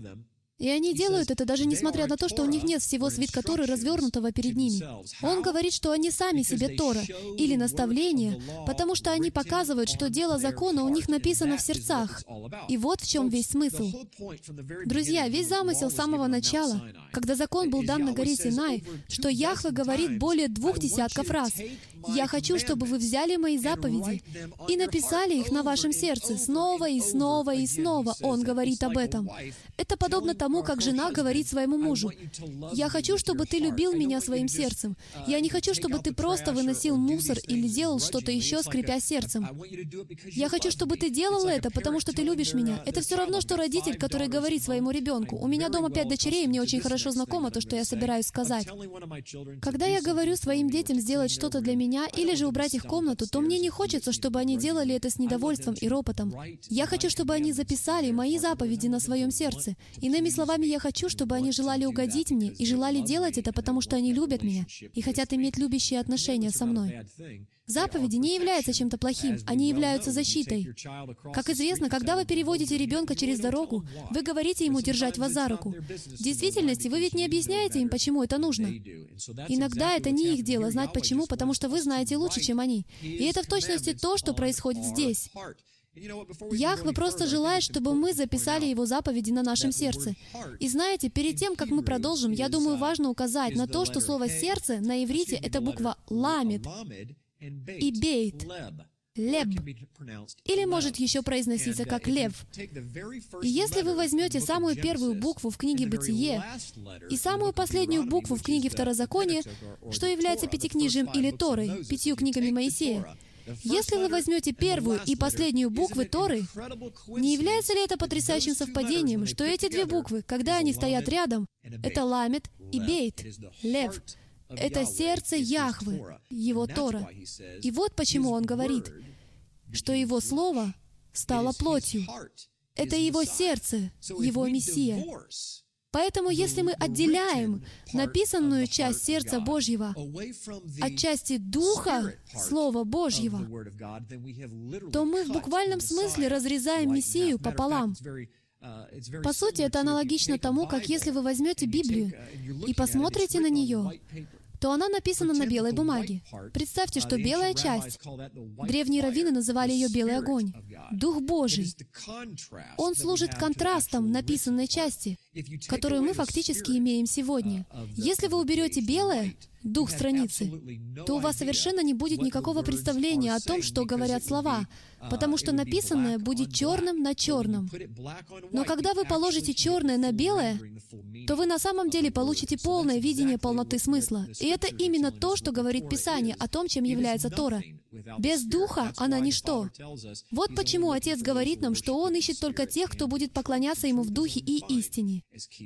И они делают это даже несмотря на то, что у них нет всего свитка Торы, развернутого перед ними. Он говорит, что они сами себе Тора или наставление, потому что они показывают, что дело закона у них написано в сердцах. И вот в чем весь смысл. Друзья, весь замысел с самого начала, когда закон был дан на горе Синай, что Яхве говорит более двух десятков раз, «Я хочу, чтобы вы взяли мои заповеди и написали их на вашем сердце снова и снова и снова». Он говорит об этом. Это подобно тому, как жена говорит своему мужу, «Я хочу, чтобы ты любил меня своим сердцем. Я не хочу, чтобы ты просто выносил мусор или делал что-то еще, скрипя сердцем. Я хочу, чтобы ты делал это, потому что ты любишь меня». Это все равно, что родитель, который говорит своему ребенку, «У меня дома пять дочерей, и мне очень хорошо знакомо то, что я собираюсь сказать». Когда я говорю своим детям сделать что-то для меня или же убрать их комнату, то мне не хочется, чтобы они делали это с недовольством и ропотом. Я хочу, чтобы они записали мои заповеди на своем сердце. Иными словами, я хочу, чтобы они желали угодить мне и желали делать это, потому что они любят меня и хотят иметь любящие отношения со мной. Заповеди не являются чем-то плохим, они являются защитой. Как известно, когда вы переводите ребенка через дорогу, вы говорите ему держать вас за руку. В действительности, вы ведь не объясняете им, почему это нужно. Иногда это не их дело знать почему, потому что вы знаете лучше, чем они. И это в точности то, что происходит здесь. Яхве просто желает, чтобы мы записали Его заповеди на нашем сердце. И знаете, перед тем, как мы продолжим, я думаю, важно указать на то, что слово «сердце» на иврите — это буква «ламед» и «бейт», «леб», или может еще произноситься как «лев». И если вы возьмете самую первую букву в книге «Бытие» и самую последнюю букву в книге «Второзаконие», что является пятикнижием или Торой, пятью книгами Моисея, если вы возьмете первую и последнюю буквы Торы, не является ли это потрясающим совпадением, что эти две буквы, когда они стоят рядом, это ламед и бейт, лев, это сердце Яхвы, Его Тора. И вот почему Он говорит, что Его Слово стало плотью. Это Его сердце, Его Мессия. Поэтому, если мы отделяем написанную часть сердца Божьего от части Духа Слова Божьего, то мы в буквальном смысле разрезаем Мессию пополам. По сути, это аналогично тому, как если вы возьмете Библию и посмотрите на нее, то она написана на белой бумаге. Представьте, что белая часть, древние раввины называли ее «белый огонь», Дух Божий. Он служит контрастом написанной части, которую мы фактически имеем сегодня. Если вы уберете белое, дух страницы, то у вас совершенно не будет никакого представления о том, что говорят слова, потому что написанное будет черным на черном. Но когда вы положите черное на белое, то вы на самом деле получите полное видение полноты смысла. И это именно то, что говорит Писание о том, чем является Тора. Без Духа она ничто. Вот почему Отец говорит нам, что Он ищет только тех, кто будет поклоняться Ему в Духе и истине.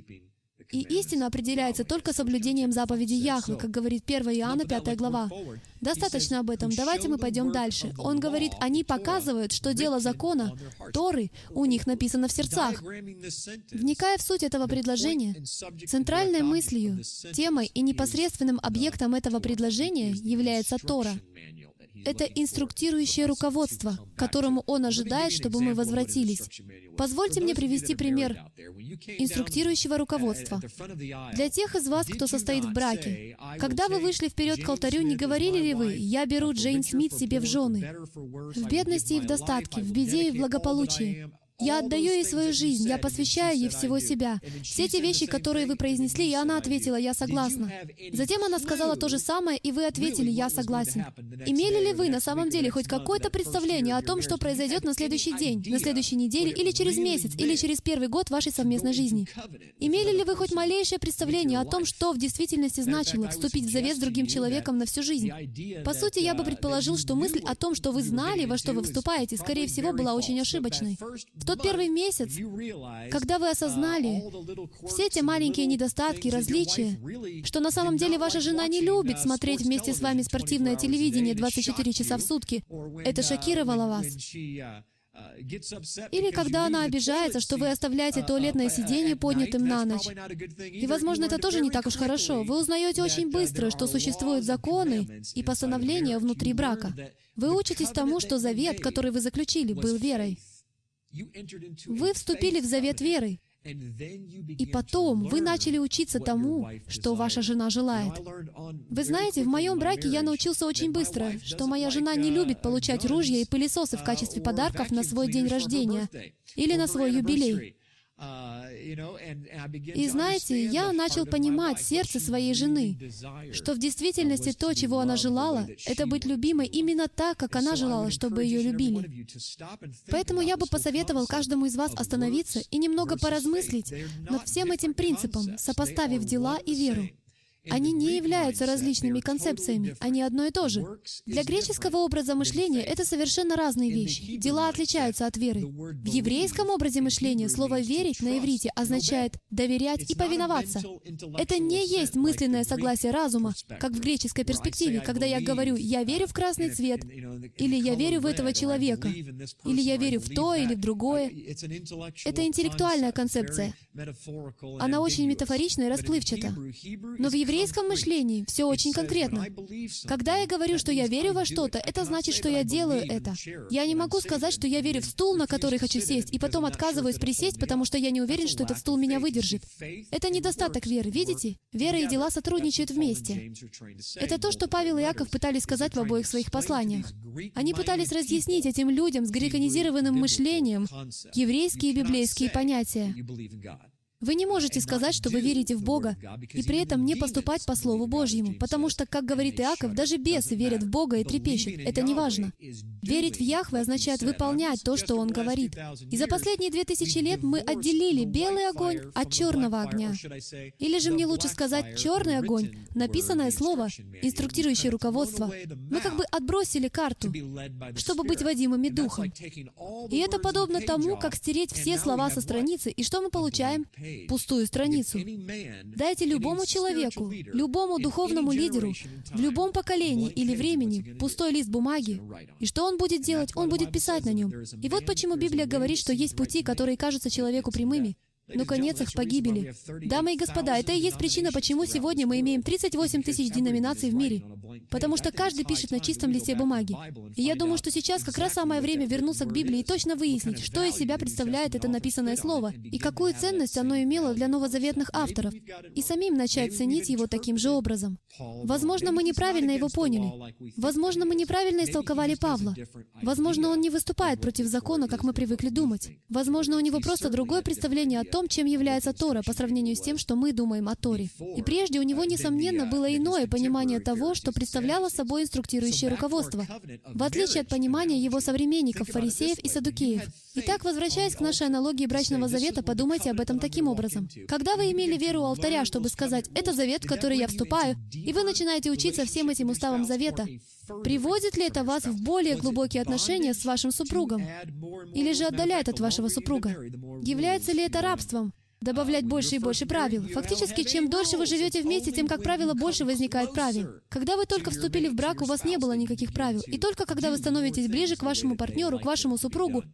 И истина определяется только соблюдением заповедей Яхве, как говорит первое Иоанна, пятая глава. Достаточно об этом. Давайте мы пойдем дальше. Он говорит, они показывают, что дело закона, Торы, у них написано в сердцах. Вникая в суть этого предложения, центральной мыслью, темой и непосредственным объектом этого предложения является Тора. Это инструктирующее руководство, к которому Он ожидает, чтобы мы возвратились. Позвольте мне привести пример инструктирующего руководства. Для тех из вас, кто состоит в браке, когда вы вышли вперед к алтарю, не говорили ли вы, «Я беру Джейн Смит себе в жены», в бедности и в достатке, в беде и в благополучии? Я отдаю ей свою жизнь, я посвящаю ей всего себя. Все те вещи, которые вы произнесли, и она ответила, я согласна. Затем она сказала то же самое, и вы ответили, я согласен. Имели ли вы на самом деле хоть какое-то представление о том, что произойдет на следующий день, на следующей неделе, или через месяц, или через первый год вашей совместной жизни? Имели ли вы хоть малейшее представление о том, что в действительности значило вступить в завет с другим человеком на всю жизнь? По сути, я бы предположил, что мысль о том, что вы знали, во что вы вступаете, скорее всего, была очень ошибочной. В тот первый месяц, когда вы осознали все те маленькие недостатки, различия, что на самом деле ваша жена не любит смотреть вместе с вами спортивное телевидение двадцать четыре часа в сутки, это шокировало вас. Или когда она обижается, что вы оставляете туалетное сиденье поднятым на ночь. И, возможно, это тоже не так уж хорошо. Вы узнаете очень быстро, что существуют законы и постановления внутри брака. Вы учитесь тому, что завет, который вы заключили, был верой. Вы вступили в завет веры, и потом вы начали учиться тому, что ваша жена желает. Вы знаете, в моем браке я научился очень быстро, что моя жена не любит получать ружья и пылесосы в качестве подарков на свой день рождения или на свой юбилей. И знаете, я начал понимать сердце своей жены, что в действительности то, чего она желала, это быть любимой именно так, как она желала, чтобы ее любили. Поэтому я бы посоветовал каждому из вас остановиться и немного поразмыслить над всем этим принципом, сопоставив дела и веру. Они не являются различными концепциями, они одно и то же. Для греческого образа мышления это совершенно разные вещи. Дела отличаются от веры. В еврейском образе мышления слово «верить» на иврите означает «доверять» и «повиноваться». Это не есть мысленное согласие разума, как в греческой перспективе, когда я говорю «я верю в красный цвет», или «я верю в этого человека», или «я верю в то или в другое». Это интеллектуальная концепция. Она очень метафорична и расплывчата. Но в еврейском еврейском мышлении все очень конкретно. Когда я говорю, что я верю во что-то, это значит, что я делаю это. Я не могу сказать, что я верю в стул, на который хочу сесть, и потом отказываюсь присесть, потому что я не уверен, что этот стул меня выдержит. Это недостаток веры, видите? Вера и дела сотрудничают вместе. Это то, что Павел и Иаков пытались сказать в обоих своих посланиях. Они пытались разъяснить этим людям с греконизированным мышлением еврейские и библейские понятия. Вы не можете сказать, что вы верите в Бога, и при этом не поступать по Слову Божьему, потому что, как говорит Иаков, даже бесы верят в Бога и трепещут. Это не важно. Верить в Яхве означает выполнять то, что Он говорит. И за последние две тысячи лет мы отделили белый огонь от черного огня. Или же мне лучше сказать черный огонь, написанное слово, инструктирующее руководство. Мы как бы отбросили карту, чтобы быть водимыми Духом. И это подобно тому, как стереть все слова со страницы, и что мы получаем? Пустую страницу. Дайте любому человеку, любому духовному лидеру, в любом поколении или времени пустой лист бумаги, и что он будет делать? Он будет писать на нем. И вот почему Библия говорит, что есть пути, которые кажутся человеку прямыми, но конец их погибели. Дамы и господа, это и есть причина, почему сегодня мы имеем тридцать восемь тысяч деноминаций в мире. Потому что каждый пишет на чистом листе бумаги. И я думаю, что сейчас как раз самое время вернуться к Библии и точно выяснить, что из себя представляет это написанное слово, и какую ценность оно имело для новозаветных авторов, и самим начать ценить его таким же образом. Возможно, мы неправильно его поняли. Возможно, мы неправильно истолковали Павла. Возможно, он не выступает против закона, как мы привыкли думать. Возможно, у него просто другое представление о том, чем является Тора, по сравнению с тем, что мы думаем о Торе. И прежде у него, несомненно, было иное понимание того, что представляло собой инструктирующее руководство, в отличие от понимания его современников, фарисеев и саддукеев. Итак, возвращаясь к нашей аналогии брачного завета, подумайте об этом таким образом. Когда вы имели веру у алтаря, чтобы сказать «это завет, в который я вступаю», и вы начинаете учиться всем этим уставам завета, приводит ли это вас в более глубокие отношения с вашим супругом? Или же отдаляет от вашего супруга? Является ли это рабством? Добавлять больше и больше правил. Фактически, чем дольше вы живете вместе, тем, как правило, больше возникает правил. Когда вы только вступили в брак, у вас не было никаких правил. И только когда вы становитесь ближе к вашему партнеру, к вашему супругу,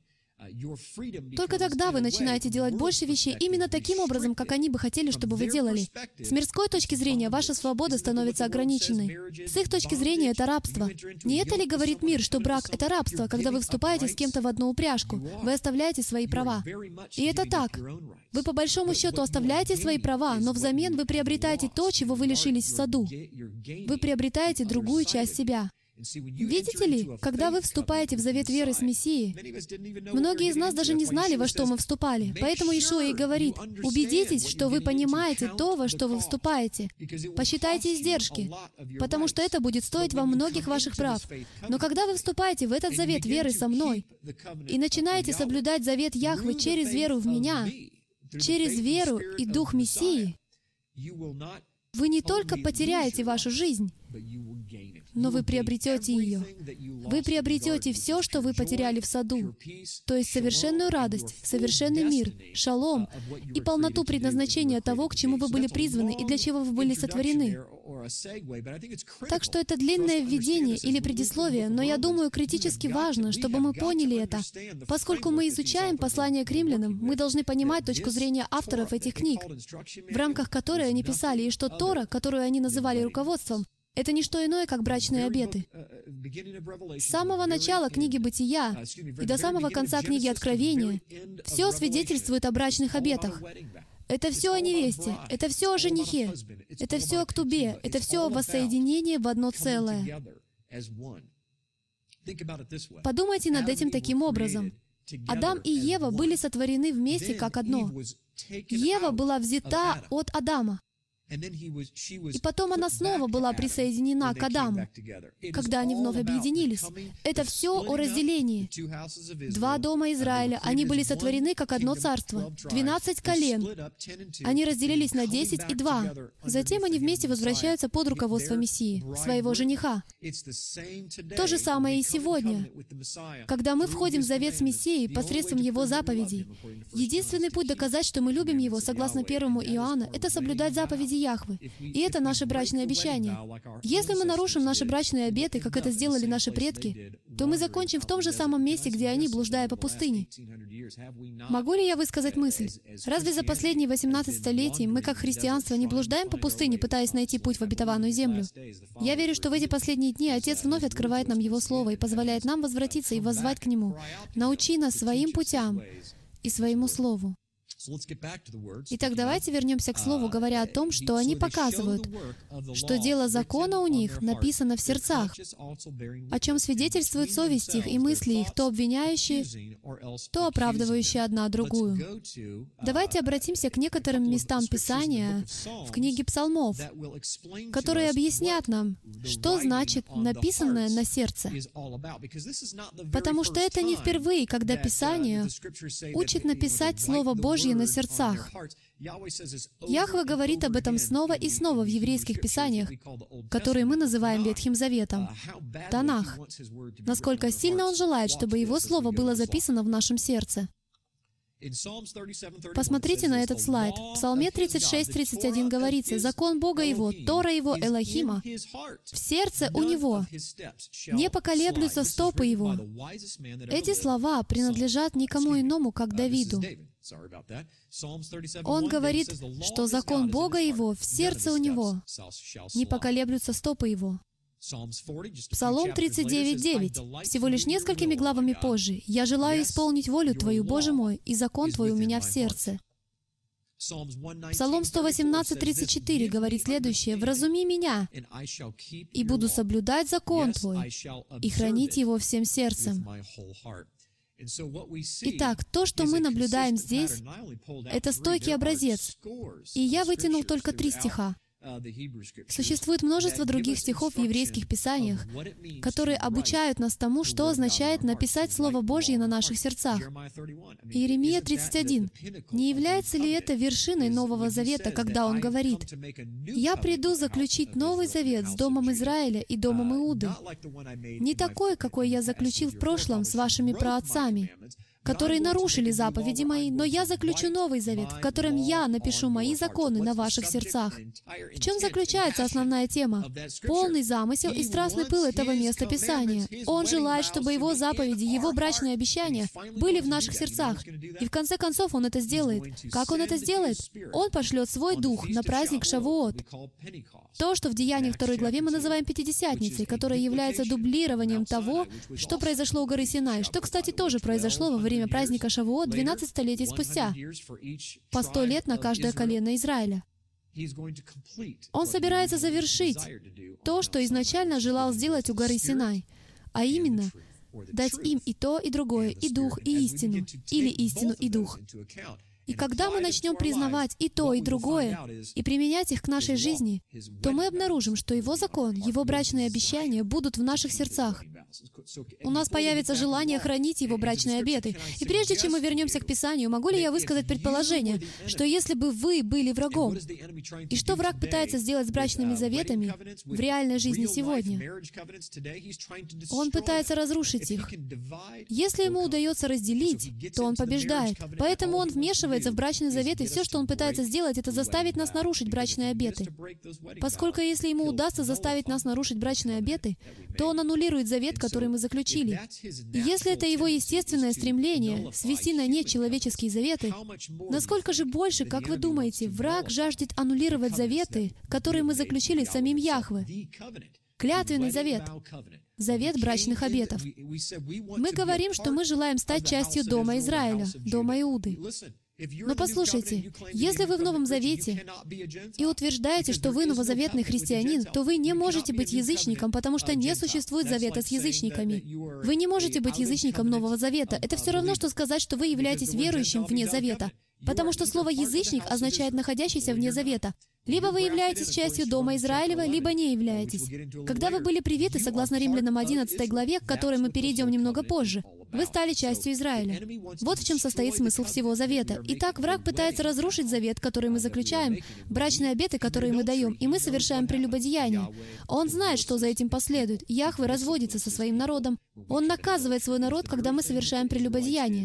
только тогда вы начинаете делать больше вещей именно таким образом, как они бы хотели, чтобы вы делали. С мирской точки зрения, ваша свобода становится ограниченной. С их точки зрения, это рабство. Не это ли говорит мир, что брак — это рабство, когда вы вступаете с кем-то в одну упряжку, вы оставляете свои права? И это так. Вы по большому счету оставляете свои права, но взамен вы приобретаете то, чего вы лишились в саду. Вы приобретаете другую часть себя. Видите ли, когда вы вступаете в завет веры с Мессией, многие из нас даже не знали, во что мы вступали. Поэтому Иешуа и говорит, убедитесь, что вы понимаете то, во что вы вступаете. Посчитайте издержки, потому что это будет стоить вам многих ваших прав. Но когда вы вступаете в этот завет веры со мной и начинаете соблюдать завет Яхве через веру в Меня, через веру и Дух Мессии, вы не только потеряете вашу жизнь, но вы приобретете ее. Вы приобретете все, что вы потеряли в саду, то есть совершенную радость, совершенный мир, шалом и полноту предназначения того, к чему вы были призваны и для чего вы были сотворены. Так что это длинное введение или предисловие, но я думаю, критически важно, чтобы мы поняли это. Поскольку мы изучаем послание к римлянам, мы должны понимать точку зрения авторов этих книг, в рамках которой они писали, и что Тора, которую они называли руководством, это не что иное, как брачные обеты. С самого начала книги Бытия и до самого конца книги Откровения все свидетельствует о брачных обетах. Это все о невесте, это все о женихе, это все о ктубе, это все о воссоединении в одно целое. Подумайте над этим таким образом. Адам и Ева были сотворены вместе как одно. Ева была взята от Адама. И потом она снова была присоединена к Адаму, когда они вновь объединились. Это все о разделении. Два дома Израиля, они были сотворены как одно царство. Двенадцать колен. Они разделились на десять и два. Затем они вместе возвращаются под руководство Мессии, своего жениха. То же самое и сегодня. Когда мы входим в завет с Мессией посредством Его заповедей, единственный путь доказать, что мы любим Его, согласно первому Иоанна, это соблюдать заповеди Яхвы. И это наше брачное обещание. Если мы нарушим наши брачные обеты, как это сделали наши предки, то мы закончим в том же самом месте, где они, блуждая по пустыне. Могу ли я высказать мысль? Разве за последние восемнадцать столетий мы, как христианство, не блуждаем по пустыне, пытаясь найти путь в обетованную землю? Я верю, что в эти последние дни Отец вновь открывает нам Его Слово и позволяет нам возвратиться и воззвать к Нему. Научи нас своим путям и своему Слову. Итак, давайте вернемся к Слову, говоря о том, что они показывают, что дело закона у них написано в сердцах, о чем свидетельствует совесть их и мысли их, то обвиняющие, то оправдывающие одна другую. Давайте обратимся к некоторым местам Писания в книге Псалмов, которые объяснят нам, что значит написанное на сердце. Потому что это не впервые, когда Писание учит написать Слово Божье на сердцах. Яхве говорит об этом снова и снова в еврейских писаниях, которые мы называем Ветхим Заветом, Танах, насколько сильно Он желает, чтобы Его Слово было записано в нашем сердце. Посмотрите на этот слайд. В Псалме тридцать шесть тридцать один говорится: «Закон Бога Его, Тора Его, Элохима, в сердце у Него, не поколеблются стопы Его». Эти слова принадлежат никому иному, как Давиду. Он говорит, что закон Бога Его в сердце у Него, не поколеблются стопы Его. Псалом тридцать девять девять, всего лишь несколькими главами позже: «Я желаю исполнить волю Твою, Боже мой, и закон Твой у меня в сердце». Псалом сто восемнадцать тридцать четыре говорит следующее: «Вразуми меня, и буду соблюдать закон Твой, и хранить его всем сердцем». Итак, то, что мы наблюдаем здесь, это стойкий образец. И я вытянул только три стиха. Существует множество других стихов в еврейских писаниях, которые обучают нас тому, что означает написать Слово Божье на наших сердцах. Иеремия тридцать один. Не является ли это вершиной Нового Завета, когда он говорит: «Я приду заключить Новый Завет с Домом Израиля и Домом Иуды, не такой, какой я заключил в прошлом с вашими праотцами, которые нарушили заповеди Мои, но я заключу Новый Завет, в котором я напишу Мои законы на ваших сердцах». В чем заключается основная тема? Полный замысел и страстный пыл этого места Писания. Он желает, чтобы Его заповеди, Его брачные обещания были в наших сердцах. И в конце концов Он это сделает. Как Он это сделает? Он пошлет Свой Дух на праздник Шавуот. То, что в Деяниях второй главе мы называем Пятидесятницей, которая является дублированием того, что произошло у горы Синай, что, кстати, тоже произошло во время праздника Шавуот двенадцать столетий спустя, по сто лет на каждое колено Израиля. Он собирается завершить то, что изначально желал сделать у горы Синай, а именно дать им и то, и другое, и дух, и истину, или истину и дух. И когда мы начнем признавать и то, и другое, и применять их к нашей жизни, то мы обнаружим, что Его закон, Его брачные обещания будут в наших сердцах. У нас появится желание хранить Его брачные обеты. И прежде чем мы вернемся к Писанию, могу ли я высказать предположение, что если бы вы были врагом, и что враг пытается сделать с брачными заветами в реальной жизни сегодня? Он пытается разрушить их. Если ему удается разделить, то он побеждает. Поэтому он вмешивается в брачный завет, и все, что он пытается сделать, это заставить нас нарушить брачные обеты. Поскольку если ему удастся заставить нас нарушить брачные обеты, то он аннулирует завет, который мы заключили. И если это его естественное стремление свести на нет человеческие заветы, насколько же больше, как вы думаете, враг жаждет аннулировать заветы, которые мы заключили с самим Яхве? Клятвенный завет. Завет брачных обетов. Мы говорим, что мы желаем стать частью Дома Израиля, Дома Иуды. Но послушайте, если вы в Новом Завете и утверждаете, что вы новозаветный христианин, то вы не можете быть язычником, потому что не существует завета с язычниками. Вы не можете быть язычником Нового Завета. Это все равно, что сказать, что вы являетесь верующим вне завета. Потому что слово «язычник» означает «находящийся вне завета». Либо вы являетесь частью Дома Израилева, либо не являетесь. Когда вы были привиты, согласно Римлянам одиннадцатой главе, к которой мы перейдем немного позже, вы стали частью Израиля. Вот в чем состоит смысл всего завета. Итак, враг пытается разрушить завет, который мы заключаем, брачные обеты, которые мы даем, и мы совершаем прелюбодеяние. Он знает, что за этим последует. Яхве разводится со своим народом. Он наказывает свой народ, когда мы совершаем прелюбодеяние.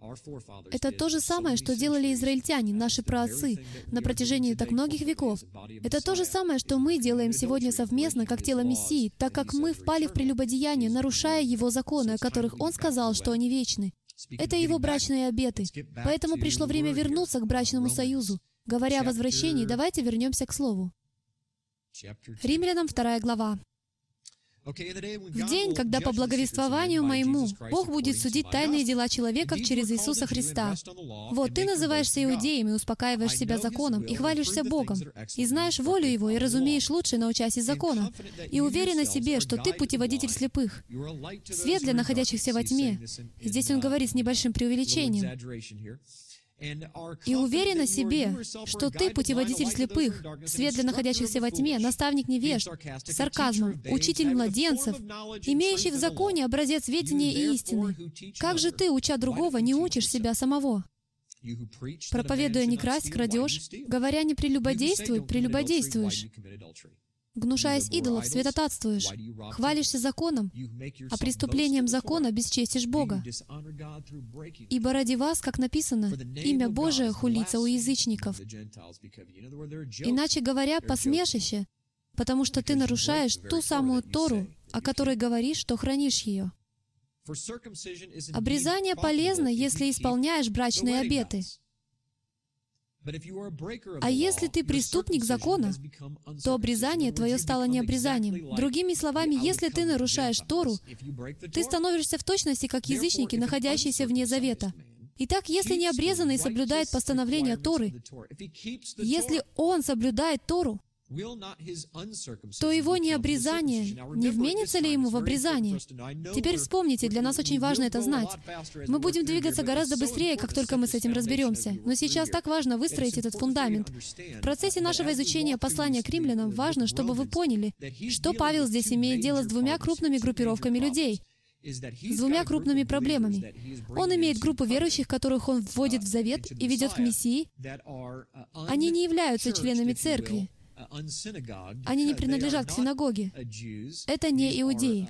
Это то же самое, что делали израильтяне, наши праотцы, на протяжении так многих веков. Это то же самое, что мы делаем сегодня совместно, как тело Мессии, так как мы впали в прелюбодеяние, нарушая Его законы, о которых Он сказал, что они вечны. Это Его брачные обеты. Поэтому пришло время вернуться к брачному союзу. Говоря о возвращении, давайте вернемся к Слову. Римлянам вторая глава. «В день, когда по благовествованию моему Бог будет судить тайные дела человеков через Иисуса Христа. Вот ты называешься иудеем и успокаиваешь себя законом, и хвалишься Богом, и знаешь волю Его, и разумеешь лучше, научась из закона, и уверен о себе, что ты путеводитель слепых, свет для находящихся во тьме». Здесь он говорит с небольшим преувеличением. «И уверен о себе, что ты путеводитель слепых, свет для находящихся во тьме, наставник невежд, с сарказмом, учитель младенцев, имеющий в законе образец ведения и истины. Как же ты, уча другого, не учишь себя самого? Проповедуя не красть, крадешь, говоря не прелюбодействуй, прелюбодействуешь. Гнушаясь идолов, святотатствуешь, хвалишься законом, а преступлением закона бесчестишь Бога. Ибо ради вас, как написано, имя Божие хулится у язычников. Иначе говоря, посмешище, потому что ты нарушаешь ту самую Тору, о которой говоришь, что хранишь ее. Обрезание полезно, если исполняешь брачные обеты. А если ты преступник закона, то обрезание твое стало не обрезанием. Другими словами, если ты нарушаешь Тору, ты становишься в точности, как язычники, находящиеся вне завета. Итак, если необрезанный соблюдает постановления Торы, если он соблюдает Тору, то его необрезание, не вменится ли ему в обрезание? Теперь вспомните, для нас очень важно это знать. Мы будем двигаться гораздо быстрее, как только мы с этим разберемся. Но сейчас так важно выстроить этот фундамент. В процессе нашего изучения послания к римлянам важно, чтобы вы поняли, что Павел здесь имеет дело с двумя крупными группировками людей, с двумя крупными проблемами. Он имеет группу верующих, которых он вводит в завет и ведет к Мессии. Они не являются членами церкви. Они не принадлежат к синагоге. Это не иудеи.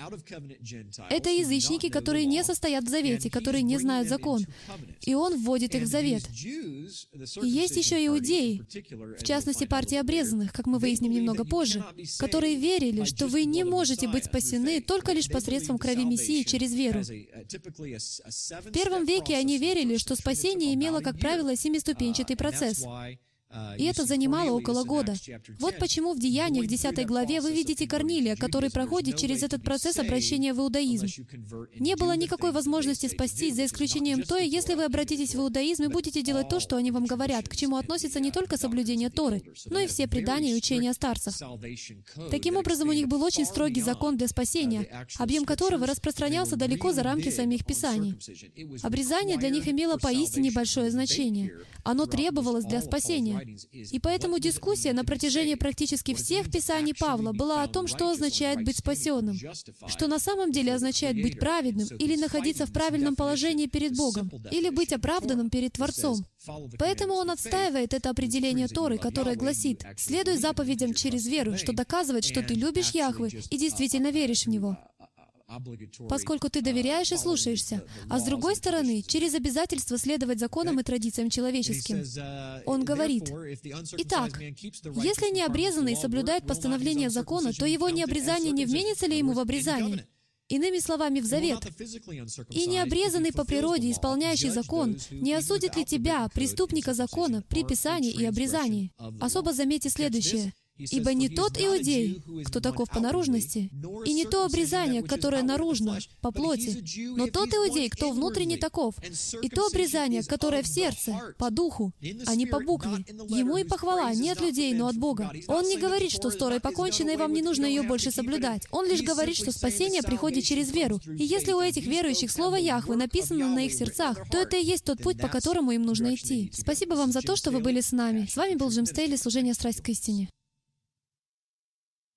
Это язычники, которые не состоят в завете, которые не знают закон. И он вводит их в завет. И есть еще иудеи, в частности, партия обрезанных, как мы выясним немного позже, которые верили, что вы не можете быть спасены только лишь посредством крови Мессии через веру. В первом веке они верили, что спасение имело, как правило, семиступенчатый процесс. И это занимало около года. Вот почему в Деяниях, десятой главе, вы видите Корнилия, который проходит через этот процесс обращения в иудаизм. Не было никакой возможности спастись, за исключением той, если вы обратитесь в иудаизм и будете делать то, что они вам говорят, к чему относится не только соблюдение Торы, но и все предания и учения старцев. Таким образом, у них был очень строгий закон для спасения, объем которого распространялся далеко за рамки самих Писаний. Обрезание для них имело поистине большое значение. Оно требовалось для спасения. И поэтому дискуссия на протяжении практически всех Писаний Павла была о том, что означает быть спасенным, что на самом деле означает быть праведным или находиться в правильном положении перед Богом, или быть оправданным перед Творцом. Поэтому он отстаивает это определение Торы, которое гласит: «Следуй заповедям через веру», что доказывает, что ты любишь Яхве и действительно веришь в Него, поскольку ты доверяешь и слушаешься, а с другой стороны, через обязательство следовать законам и традициям человеческим. Он говорит: «Итак, если необрезанный соблюдает постановления закона, то его необрезание не вменится ли ему в обрезание?» Иными словами, в завет. «И необрезанный по природе, исполняющий закон, не осудит ли тебя, преступника закона, при писании и обрезании?» Особо заметьте следующее. «Ибо не тот иудей, кто таков по наружности, и не то обрезание, которое наружно, по плоти, но тот иудей, кто внутренне таков, и то обрезание, которое в сердце, по духу, а не по букве. Ему и похвала не от людей, но от Бога». Он не говорит, что с Торой покончено, и вам не нужно ее больше соблюдать. Он лишь говорит, что спасение приходит через веру. И если у этих верующих слово Яхве написано на их сердцах, то это и есть тот путь, по которому им нужно идти. Спасибо вам за то, что вы были с нами. С вами был Джим Стейли, служение «Страсть к истине».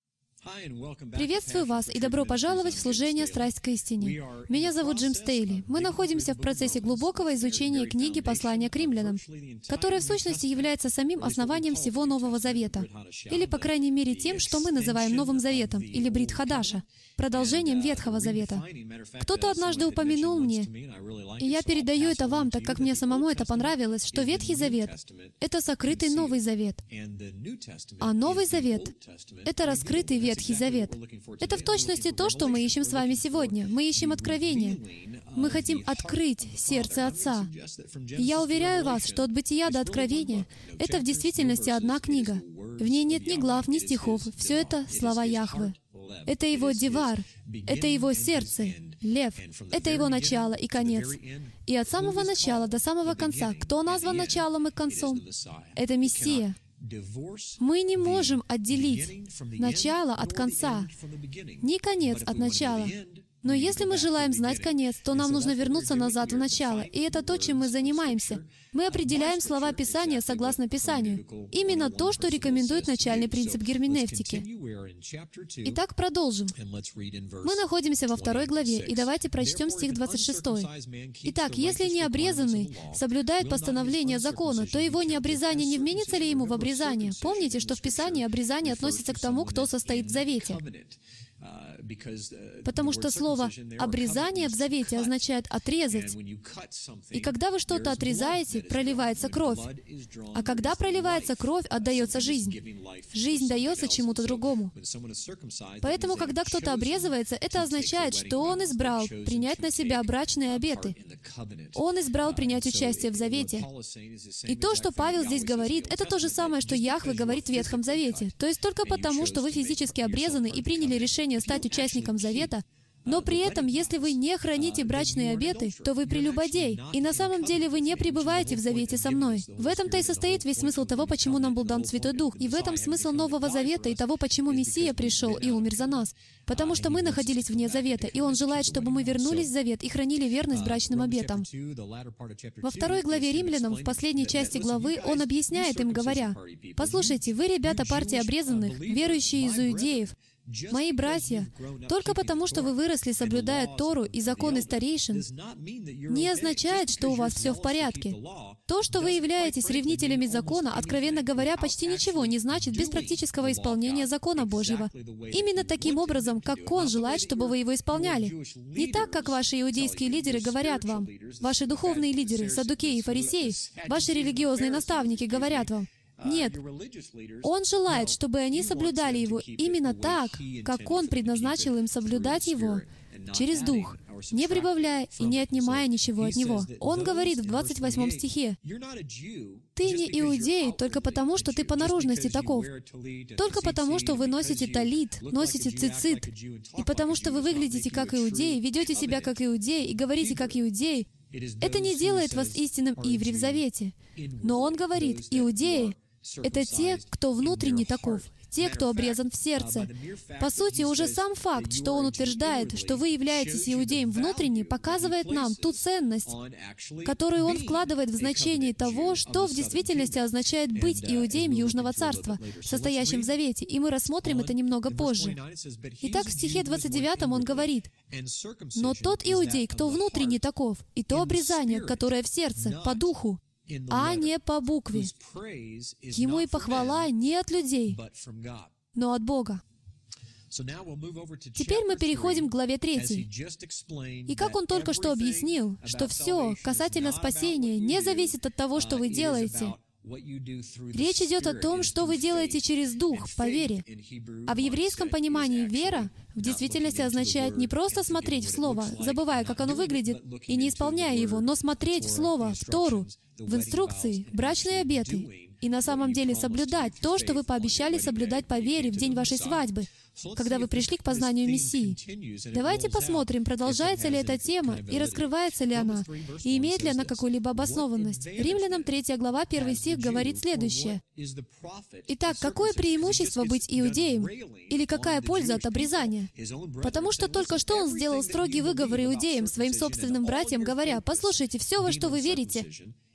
Приветствую вас и добро пожаловать в служение «Страсть к истине». Меня зовут Джим Стейли. Мы находимся в процессе глубокого изучения книги «Послания к римлянам», которая в сущности является самим основанием всего Нового Завета, или, по крайней мере, тем, что мы называем Новым Заветом, или Брит Хадаша, продолжением Ветхого Завета. Кто-то однажды упомянул мне, и я передаю это вам, так как мне самому это понравилось, что Ветхий Завет — это сокрытый Новый Завет, а Новый Завет — это раскрытый Ветхий Завет. Это в точности то, что мы ищем с вами сегодня. Мы ищем откровение. Мы хотим открыть сердце Отца. И я уверяю вас, что от Бытия до Откровения — это в действительности одна книга. В ней нет ни глав, ни стихов. Все это слова Яхвы. Это Его Девар, это Его сердце, Лев, это Его начало и конец. И от самого начала до самого конца, кто назван началом и концом? Это Мессия. Мы не можем отделить начало от конца, ни конец от начала. Но если мы желаем знать конец, то нам нужно вернуться назад в начало. И это то, чем мы занимаемся. Мы определяем слова Писания согласно Писанию. Именно то, что рекомендует начальный принцип герменевтики. Итак, продолжим. Мы находимся во второй главе, и давайте прочтем стих двадцать шестой. Итак, если необрезанный соблюдает постановление закона, то его необрезание не вменится ли ему в обрезание? Помните, что в Писании обрезание относится к тому, кто состоит в завете. Потому что слово «обрезание» в Завете означает «отрезать». И когда вы что-то отрезаете, проливается кровь. А когда проливается кровь, отдается жизнь. Жизнь дается чему-то другому. Поэтому, когда кто-то обрезывается, это означает, что он избрал принять на себя брачные обеты. Он избрал принять участие в Завете. И то, что Павел здесь говорит, это то же самое, что Яхве говорит в Ветхом Завете. То есть только потому, что вы физически обрезаны и приняли решение стать участником Завета, но при этом, если вы не храните брачные обеты, то вы прелюбодей, и на самом деле вы не пребываете в завете со мной. В этом-то и состоит весь смысл того, почему нам был дан Святой Дух, и в этом смысл Нового Завета и того, почему Мессия пришел и умер за нас. Потому что мы находились вне Завета, и Он желает, чтобы мы вернулись в Завет и хранили верность брачным обетам. Во второй главе Римлянам, в последней части главы, Он объясняет им, говоря: «Послушайте, вы, ребята партии обрезанных, верующие из иудеев, мои братья, только потому, что вы выросли, соблюдая Тору и законы старейшин, не означает, что у вас все в порядке. То, что вы являетесь ревнителями закона, откровенно говоря, почти ничего не значит без практического исполнения закона Божьего. Именно таким образом, как Он желает, чтобы вы его исполняли. Не так, как ваши иудейские лидеры говорят вам, ваши духовные лидеры, саддукеи и фарисеи, ваши религиозные наставники говорят вам. Нет. Он желает, чтобы они соблюдали Его именно так, как Он предназначил им соблюдать Его, через Дух, не прибавляя и не отнимая ничего от Него. Он говорит в двадцать восьмом стихе: «Ты не иудей только потому, что ты по наружности таков, только потому, что вы носите талит, носите цицит, и потому что вы выглядите как иудеи, ведете себя как иудеи и говорите как иудеи. Это не делает вас истинным иври в завете». Но он говорит: иудеи — это те, кто внутренне таков, те, кто обрезан в сердце. По сути, уже сам факт, что он утверждает, что вы являетесь иудеем внутренне, показывает нам ту ценность, которую он вкладывает в значение того, что в действительности означает быть иудеем Южного Царства, состоящим в Завете, и мы рассмотрим это немного позже. Итак, в стихе двадцать девятом он говорит: «Но тот иудей, кто внутренне таков, и то обрезание, которое в сердце, по духу, а не по букве. Ему и похвала не от людей, но от Бога». Теперь мы переходим к главе третьей. И как он только что объяснил, что все касательно спасения не зависит от того, что вы делаете. Речь идет о том, что вы делаете через Дух, по вере. А в еврейском понимании вера в действительности означает не просто смотреть в Слово, забывая, как оно выглядит, и не исполняя его, но смотреть в Слово, в Тору, в инструкции, в брачные обеты, и на самом деле соблюдать то, что вы пообещали соблюдать по вере в день вашей свадьбы, когда вы пришли к познанию Мессии. Давайте посмотрим, продолжается ли эта тема, и раскрывается ли она, и имеет ли она какую-либо обоснованность. Римлянам третья глава, первый стих говорит следующее. Итак, какое преимущество быть иудеем? Или какая польза от обрезания? Потому что только что он сделал строгий выговор иудеям, своим собственным братьям, говоря: «Послушайте, все, во что вы верите,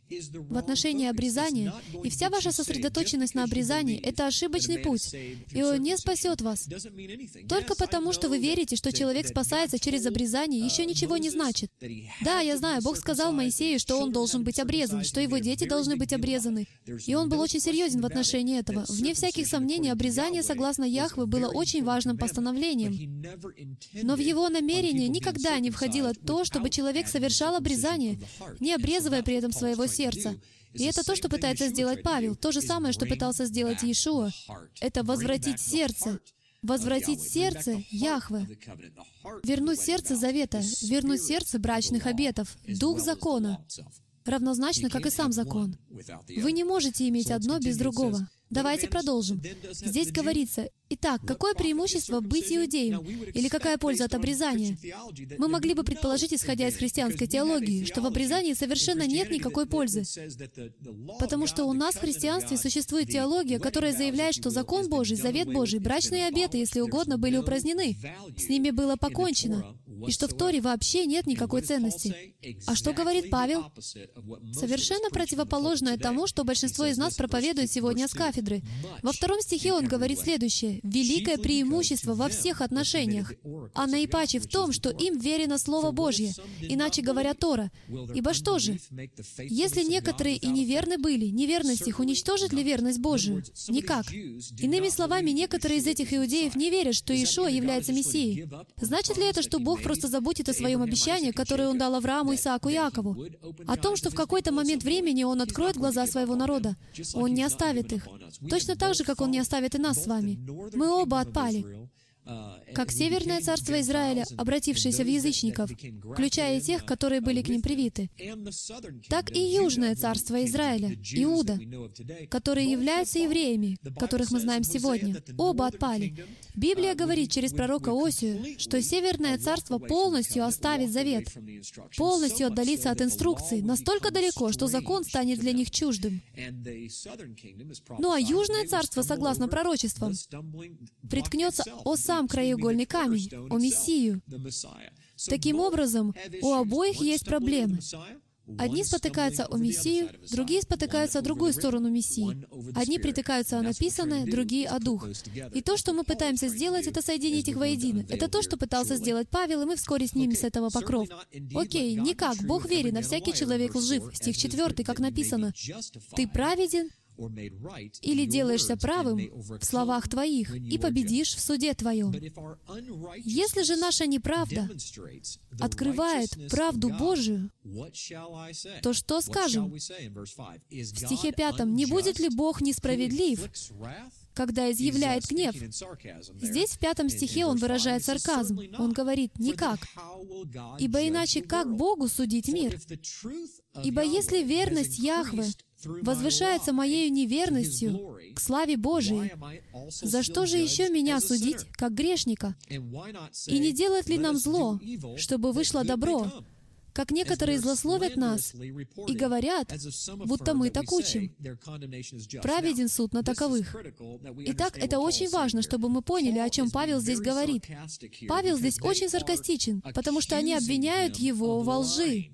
в отношении обрезания, и вся ваша сосредоточенность на обрезании — это ошибочный путь, и он не спасет вас. Только потому, что вы верите, что человек спасается через обрезание, еще ничего не значит. Да, я знаю, Бог сказал Моисею, что он должен быть обрезан, что его дети должны быть обрезаны. И он был очень серьезен в отношении этого. Вне всяких сомнений, обрезание, согласно Яхве, было очень важным постановлением. Но в его намерение никогда не входило то, чтобы человек совершал обрезание, не обрезывая при этом своего сердца. И это то, что пытается сделать Павел. То же самое, что пытался сделать Иешуа. Это возвратить сердце. Возвратить сердце Яхве. Вернуть сердце завета. Вернуть сердце брачных обетов. Дух закона. Равнозначно, как и сам закон. Вы не можете иметь одно без другого. Давайте продолжим. Здесь говорится, итак, какое преимущество быть иудеем? Или какая польза от обрезания? Мы могли бы предположить, исходя из христианской теологии, что в обрезании совершенно нет никакой пользы. Потому что у нас в христианстве существует теология, которая заявляет, что закон Божий, завет Божий, брачные обеты, если угодно, были упразднены. С ними было покончено. И что в Торе вообще нет никакой ценности. А что говорит Павел? Совершенно противоположное тому, что большинство из нас проповедует сегодня с кафедры. Во втором стихе он говорит следующее. «Великое преимущество во всех отношениях, а наипаче в том, что им верено Слово Божье, иначе говоря, Тора. Ибо что же? Если некоторые и неверны были, неверность их уничтожит ли верность Божию? Никак. Иными словами, некоторые из этих иудеев не верят, что Иешуа является Мессией. Значит ли это, что Бог просто забудет о своем обещании, которое Он дал Аврааму, Исааку и Иакову? О том, что в какой-то момент времени Он откроет глаза своего народа. Он не оставит их. Точно так же, как Он не оставит и нас с вами. Мы оба отпали. Как Северное царство Израиля, обратившееся в язычников, включая и тех, которые были к ним привиты, так и Южное царство Израиля, Иуда, которые являются евреями, которых мы знаем сегодня, оба отпали. Библия говорит через пророка Осию, что Северное царство полностью оставит завет, полностью отдалится от инструкций, настолько далеко, что закон станет для них чуждым. Ну а Южное царство, согласно пророчествам, приткнется о сам краеугольный камень, о Мессию. Таким образом, у обоих есть проблемы. Одни спотыкаются о Мессию, другие спотыкаются о другую сторону Мессии. Одни притыкаются о написанное, другие о Дух. И то, что мы пытаемся сделать, это соединить их воедино. Это то, что пытался сделать Павел, и мы вскоре снимем с этого покров. Окей, никак, Бог верен, а всякий человек лжив. Стих четвертый, как написано. «Ты праведен или делаешься правым в словах твоих и победишь в суде твоем». Если же наша неправда открывает правду Божию, то что скажем? В стихе пятом, «Не будет ли Бог несправедлив, когда изъявляет гнев?» Здесь в пятом стихе он выражает сарказм. Он говорит, «Никак. Ибо иначе как Богу судить мир? Ибо если верность Яхве возвышается моею неверностью к славе Божией, за что же еще меня судить, как грешника? И не делать ли нам зло, чтобы вышло добро? Как некоторые злословят нас и говорят, будто мы так учим. Праведен суд на таковых». Итак, это очень важно, чтобы мы поняли, о чем Павел здесь говорит. Павел здесь очень саркастичен, потому что они обвиняют его во лжи.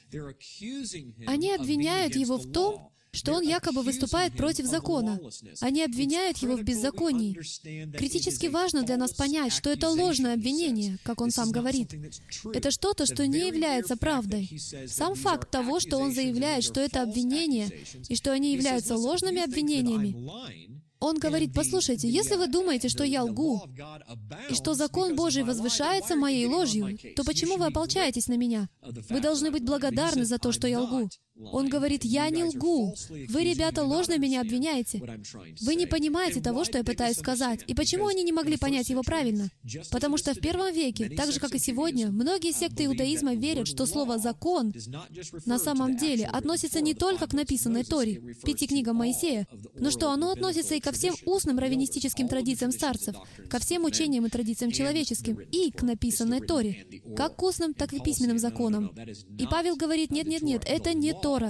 Они обвиняют его в том, что он якобы выступает против закона. Они обвиняют его в беззаконии. Критически важно для нас понять, что это ложное обвинение, как он сам говорит. Это что-то, что не является правдой. Сам факт того, что он заявляет, что это обвинение, и что они являются ложными обвинениями, он говорит, послушайте, если вы думаете, что я лгу, и что закон Божий возвышается моей ложью, то почему вы ополчаетесь на меня? Вы должны быть благодарны за то, что я лгу. Он говорит, я не лгу. Вы, ребята, ложно меня обвиняете. Вы не понимаете того, что я пытаюсь сказать. И почему они не могли понять его правильно? Потому что в первом веке, так же, как и сегодня, многие секты иудаизма верят, что слово «закон» на самом деле относится не только к написанной Торе, пяти книгам Моисея, но что оно относится и ко всем устным раввинистическим традициям старцев, ко всем учениям и традициям человеческим, и к написанной Торе, как к устным, так и письменным законам. И Павел говорит, нет-нет-нет, это не Тора.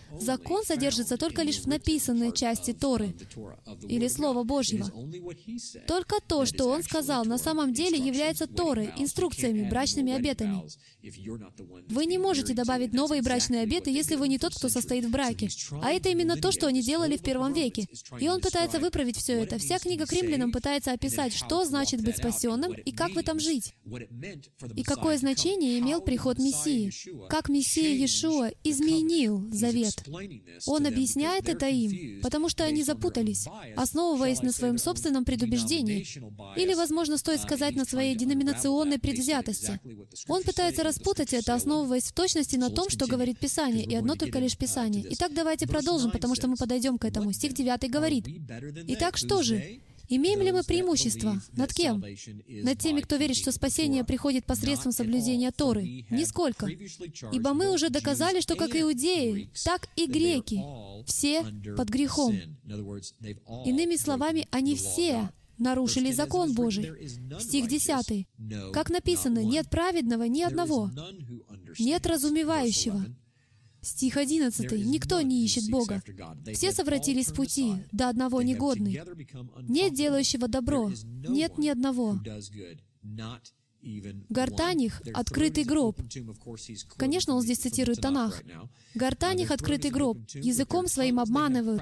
закон содержится только лишь в написанной части Торы или Слова Божьего. Только то, что Он сказал, на самом деле является Торой, инструкциями, брачными обетами. Вы не можете добавить новые брачные обеты, если вы не тот, кто состоит в браке. А это именно то, что они делали в первом веке. И Он пытается выправить все это. Вся книга к Римлянам пытается описать, что значит быть спасенным и как в этом жить. И какое значение имел приход Мессии. Как Мессия Иешуа изменил завет. Он объясняет это им, потому что они запутались, основываясь на своем собственном предубеждении. Или, возможно, стоит сказать, на своей деноминационной предвзятости. Он пытается распутать это, основываясь в точности на том, что говорит Писание, и одно только лишь Писание. Итак, давайте продолжим, потому что мы подойдем к этому. Стих девятый говорит: «Итак, что же? Имеем ли мы преимущество? Над кем? Над теми, кто верит, что спасение приходит посредством соблюдения Торы? Нисколько. Ибо мы уже доказали, что как иудеи, так и греки, все под грехом». Иными словами, они все нарушили закон Божий. Стих десятый. Как написано: «Нет праведного ни одного, нет разумевающего». Стих одиннадцатый. «Никто не ищет Бога. Все совратились с пути, до одного негодный. Нет делающего добро, нет ни одного. Гортань их — открытый гроб». Конечно, он здесь цитирует Танах. «Гортань их — открытый гроб, языком своим обманывают.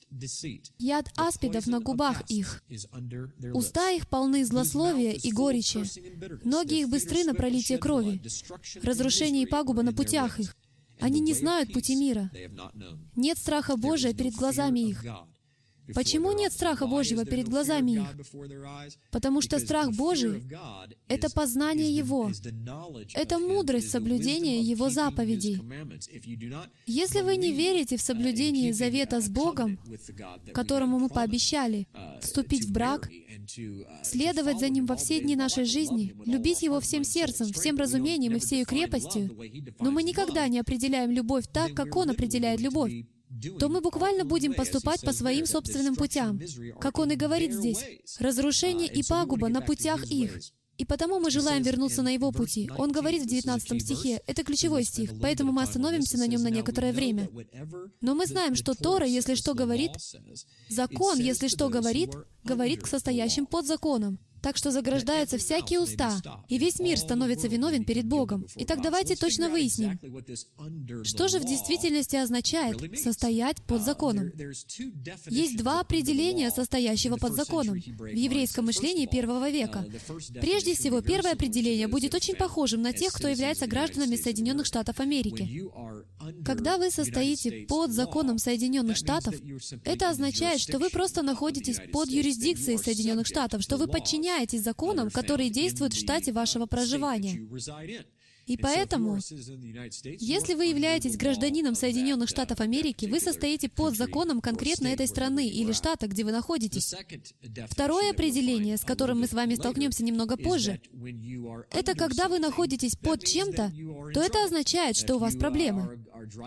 Яд аспидов на губах их. Уста их полны злословия и горечи. Ноги их быстры на пролитие крови. Разрушение и пагуба на путях их. Они не знают пути мира. Нет страха Божия перед глазами их». Почему нет страха Божьего перед глазами их? Потому что страх Божий — это познание Его, это мудрость соблюдения Его заповедей. Если вы не верите в соблюдение завета с Богом, которому мы пообещали вступить в брак, следовать за Ним во все дни нашей жизни, любить Его всем сердцем, всем разумением и всею крепостью, но мы никогда не определяем любовь так, как Он определяет любовь, то мы буквально будем поступать по своим собственным путям. Как Он и говорит здесь, «разрушение и пагуба на путях их». И потому мы желаем вернуться на Его пути. Он говорит в девятнадцатом стихе, это ключевой стих, поэтому мы остановимся на нем на некоторое время. Но мы знаем, что Тора, если что говорит, закон, если что говорит, говорит к состоящим под законом. Так что заграждаются всякие уста, и весь мир становится виновен перед Богом. Итак, давайте точно выясним, что же в действительности означает «состоять под законом». Есть два определения состоящего под законом в еврейском мышлении первого века. Прежде всего, первое определение будет очень похожим на тех, кто является гражданами Соединенных Штатов Америки. Когда вы состоите под законом Соединенных Штатов, это означает, что вы просто находитесь под юрисдикцией Соединенных Штатов, что вы подчиняетесь законам, которые действуют в штате вашего проживания. И поэтому, если вы являетесь гражданином Соединенных Штатов Америки, вы состоите под законом конкретно этой страны или штата, где вы находитесь. Второе определение, с которым мы с вами столкнемся немного позже, это когда вы находитесь под чем-то, то это означает, что у вас проблемы.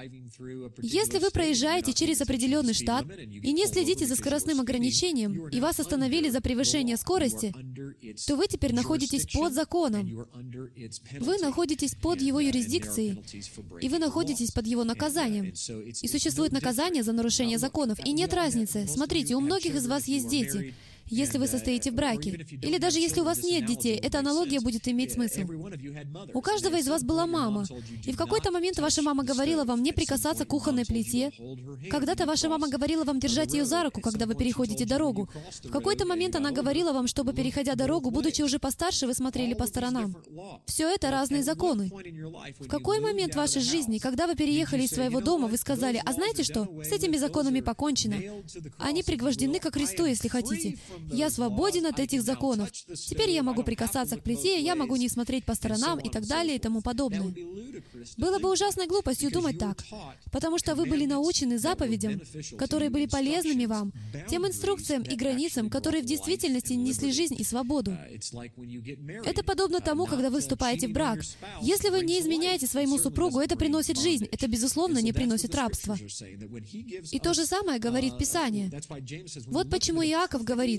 Если вы проезжаете через определенный штат и не следите за скоростным ограничением, и вас остановили за превышение скорости, то вы теперь находитесь под законом. Вы находитесь под его юрисдикцией, и вы находитесь под его наказанием. И существует наказание за нарушение законов, и нет разницы. Смотрите, у многих из вас есть дети, если вы состоите в браке. Или даже если у вас нет детей, эта аналогия будет иметь смысл. У каждого из вас была мама, и в какой-то момент ваша мама говорила вам не прикасаться к кухонной плите. Когда-то ваша мама говорила вам держать ее за руку, когда вы переходите дорогу. В какой-то момент она говорила вам, чтобы, переходя дорогу, будучи уже постарше, вы смотрели по сторонам. Все это разные законы. В какой момент вашей жизни, когда вы переехали из своего дома, вы сказали: «А знаете что? С этими законами покончено. Они пригвождены ко кресту, если хотите. Я свободен от этих законов. Теперь я могу прикасаться к плите, я могу не смотреть по сторонам и так далее и тому подобное». Было бы ужасной глупостью думать так, потому что вы были научены заповедям, которые были полезными вам, тем инструкциям и границам, которые в действительности несли жизнь и свободу. Это подобно тому, когда вы вступаете в брак. Если вы не изменяете своему супругу, это приносит жизнь, это, безусловно, не приносит рабство. И то же самое говорит Писание. Вот почему Иаков говорит: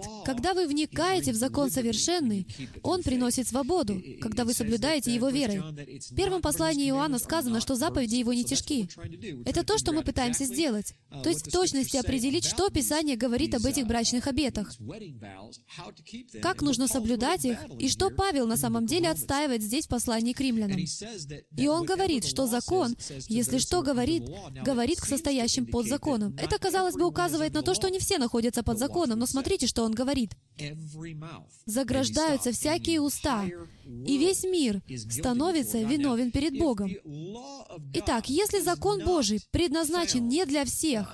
Когда вы вникаете в закон совершенный, он приносит свободу, когда вы соблюдаете его верой. В первом послании Иоанна сказано, что заповеди его не тяжки. Это то, что мы пытаемся сделать. То есть в точности определить, что Писание говорит об этих брачных обетах. Как нужно соблюдать их, и что Павел на самом деле отстаивает здесь в послании к римлянам. И он говорит, что закон, если что говорит, говорит к состоящим под законом. Это, казалось бы, указывает на то, что не все находятся под законом, но смотрите, что он говорит. «Заграждаются всякие уста, и весь мир становится виновен перед Богом». Итак, если закон Божий предназначен не для всех,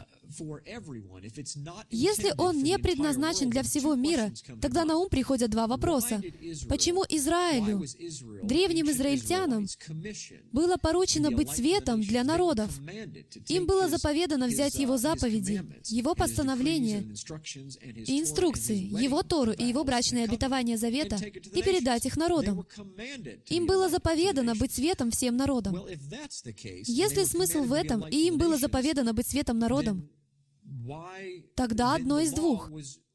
если он не предназначен для всего мира, тогда на ум приходят два вопроса. Почему Израилю, древним израильтянам, было поручено быть светом для народов? Им было заповедано взять его заповеди, его постановления и инструкции, его Тору и его брачные обетования завета и передать их народам. Им было заповедано быть светом всем народам. Если смысл в этом, и им было заповедано быть светом народам, тогда одно из двух.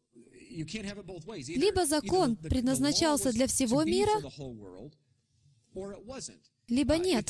Либо закон предназначался для всего мира, либо нет.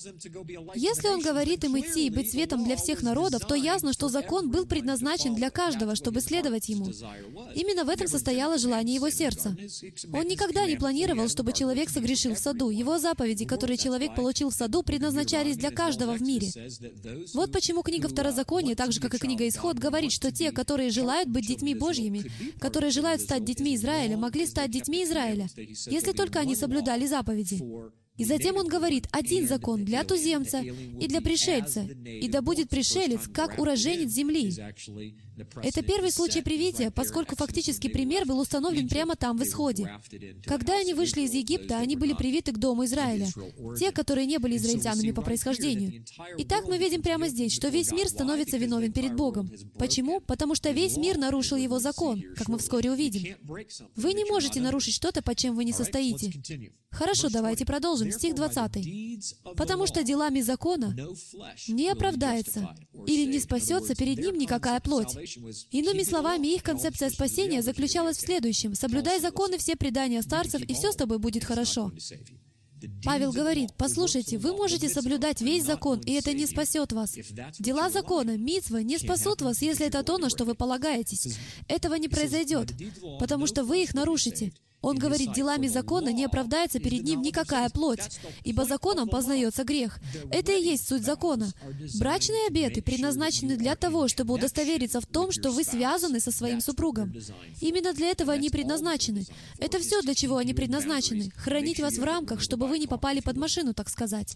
Если он говорит им идти и быть светом для всех народов, то ясно, что закон был предназначен для каждого, чтобы следовать ему. Именно в этом состояло желание его сердца. Он никогда не планировал, чтобы человек согрешил в саду. Его заповеди, которые человек получил в саду, предназначались для каждого в мире. Вот почему книга Второзакония, так же, как и книга Исход, говорит, что те, которые желают быть детьми Божьими, которые желают стать детьми Израиля, могли стать детьми Израиля, если только они соблюдали заповеди. И затем он говорит, один закон для туземца и для пришельца, и да будет пришелец, как уроженец земли. Это первый случай привития, поскольку фактически пример был установлен прямо там, в Исходе. Когда они вышли из Египта, они были привиты к дому Израиля, те, которые не были израильтянами по происхождению. Итак, мы видим прямо здесь, что весь мир становится виновен перед Богом. Почему? Потому что весь мир нарушил его закон, как мы вскоре увидим. Вы не можете нарушить что-то, под чем вы не состоите. Хорошо, давайте продолжим. Стих двадцатый. «Потому что делами закона не оправдается или не спасется перед ним никакая плоть». Иными словами, их концепция спасения заключалась в следующем. «Соблюдай законы, все предания старцев, и все с тобой будет хорошо». Павел говорит, послушайте, вы можете соблюдать весь закон, и это не спасет вас. Дела закона, мицва, не спасут вас, если это то, на что вы полагаетесь. Этого не произойдет, потому что вы их нарушите. Он говорит, делами закона не оправдается перед ним никакая плоть, ибо законом познается грех. Это и есть суть закона. Брачные обеты предназначены для того, чтобы удостовериться в том, что вы связаны со своим супругом. Именно для этого они предназначены. Это все, для чего они предназначены. Хранить вас в рамках, чтобы вы не попали под машину, так сказать.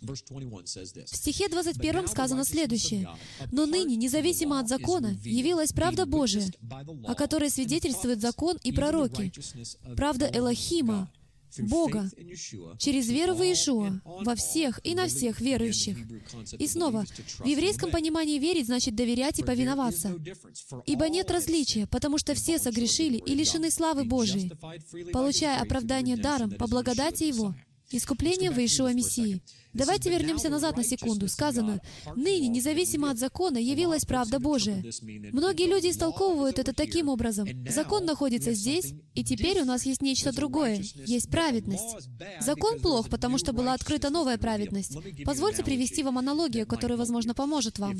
В стихе двадцать первом сказано следующее. «Но ныне, независимо от закона, явилась правда Божия, о которой свидетельствует закон и пророки. Правда Элохима, Бога, через веру в Иешуа, во всех и на всех верующих». И снова, в еврейском понимании верить значит доверять и повиноваться. «Ибо нет различия, потому что все согрешили и лишены славы Божией, получая оправдание даром по благодати Его, искуплением в Иешуа Мессии». Давайте вернемся назад на секунду. Сказано, «Ныне, независимо от закона, явилась правда Божия». Многие люди истолковывают это таким образом. Закон находится здесь, и теперь у нас есть нечто другое. Есть праведность. Закон плох, потому что была открыта новая праведность. Позвольте привести вам аналогию, которая, возможно, поможет вам.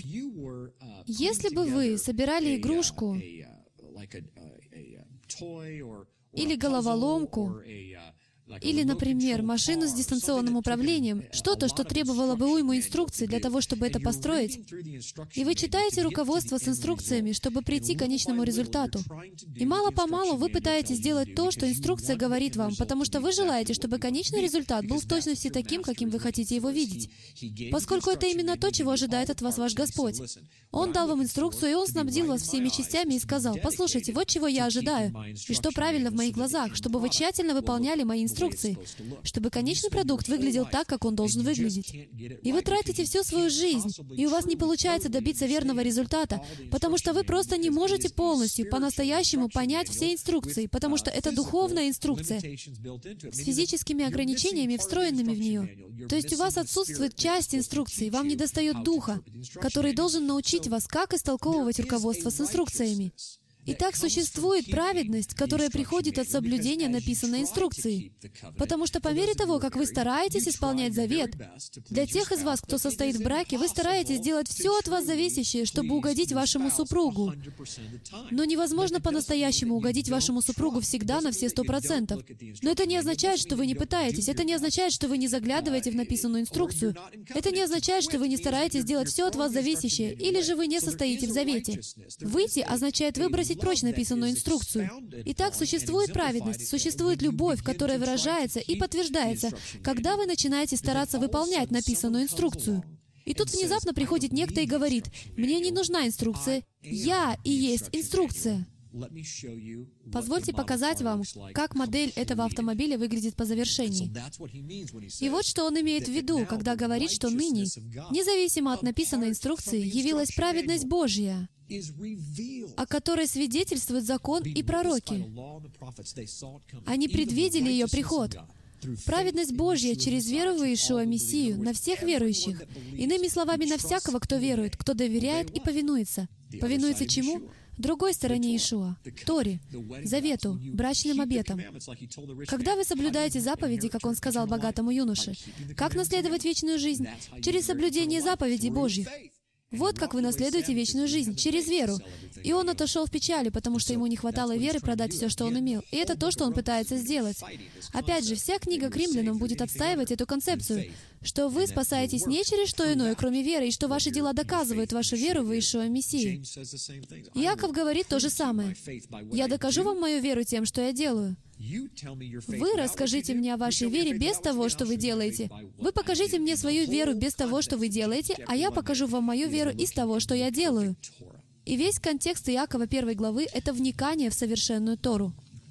Если бы вы собирали игрушку или головоломку, или, например, машину с дистанционным управлением, что-то, что требовало бы уйму инструкций для того, чтобы это построить, и вы читаете руководство с инструкциями, чтобы прийти к конечному результату. И мало-помалу вы пытаетесь сделать то, что инструкция говорит вам, потому что вы желаете, чтобы конечный результат был в точности таким, каким вы хотите его видеть. Поскольку это именно то, чего ожидает от вас ваш Господь. Он дал вам инструкцию, и Он снабдил вас всеми частями и сказал, «Послушайте, вот чего я ожидаю, и что правильно в моих глазах, чтобы вы тщательно выполняли мои инструкции, инструкции, чтобы конечный продукт выглядел так, как он должен выглядеть. И вы тратите всю свою жизнь, и у вас не получается добиться верного результата, потому что вы просто не можете полностью, по-настоящему понять все инструкции, потому что это духовная инструкция с физическими ограничениями, встроенными в нее. То есть у вас отсутствует часть инструкции, вам недостает духа, который должен научить вас, как истолковывать руководство с инструкциями. Итак, существует праведность, которая приходит от соблюдения написанной инструкции. Потому что по мере того, как вы стараетесь исполнять завет, для тех из вас, кто состоит в браке, вы стараетесь делать все от вас зависящее, чтобы угодить вашему супругу. Но невозможно по-настоящему угодить вашему супругу всегда на все сто процентов. Но это не означает, что вы не пытаетесь. Это не означает, что вы не заглядываете в написанную инструкцию. Это не означает, что вы не стараетесь делать все от вас зависящее, или же вы не состоите в завете. Выйти означает выбросить прочь написанную инструкцию. Итак, существует праведность, существует любовь, которая выражается и подтверждается, когда вы начинаете стараться выполнять написанную инструкцию. И тут внезапно приходит некто и говорит: «Мне не нужна инструкция, я и есть инструкция». Позвольте показать вам, как модель этого автомобиля выглядит по завершении. И вот что он имеет в виду, когда говорит, что ныне, независимо от написанной инструкции, явилась праведность Божья, о которой свидетельствуют закон и пророки. Они предвидели ее приход. Праведность Божья через веру в Иешуа Мессию на всех верующих. Иными словами, на всякого, кто верует, кто доверяет и повинуется. Повинуется чему? Другой стороне Иешуа, Торе, Завету, брачным обетам. Когда вы соблюдаете заповеди, как он сказал богатому юноше, как наследовать вечную жизнь? Через соблюдение заповедей Божьих. Вот как вы наследуете вечную жизнь, через веру. И он отошел в печали, потому что ему не хватало веры продать все, что он имел. И это то, что он пытается сделать. Опять же, вся книга к римлянам будет отстаивать эту концепцию, что вы спасаетесь не через что иное, кроме веры, и что ваши дела доказывают вашу веру в Иешуа Мессии. Иаков говорит то же самое. «Я докажу вам мою веру тем, что я делаю». Вы расскажите мне о вашей вере без того, что вы делаете. Вы покажите мне свою веру без того, что вы делаете, а я покажу вам мою веру из того, что я делаю. И весь контекст Иакова первой главы — это вникание в совершенную Тору.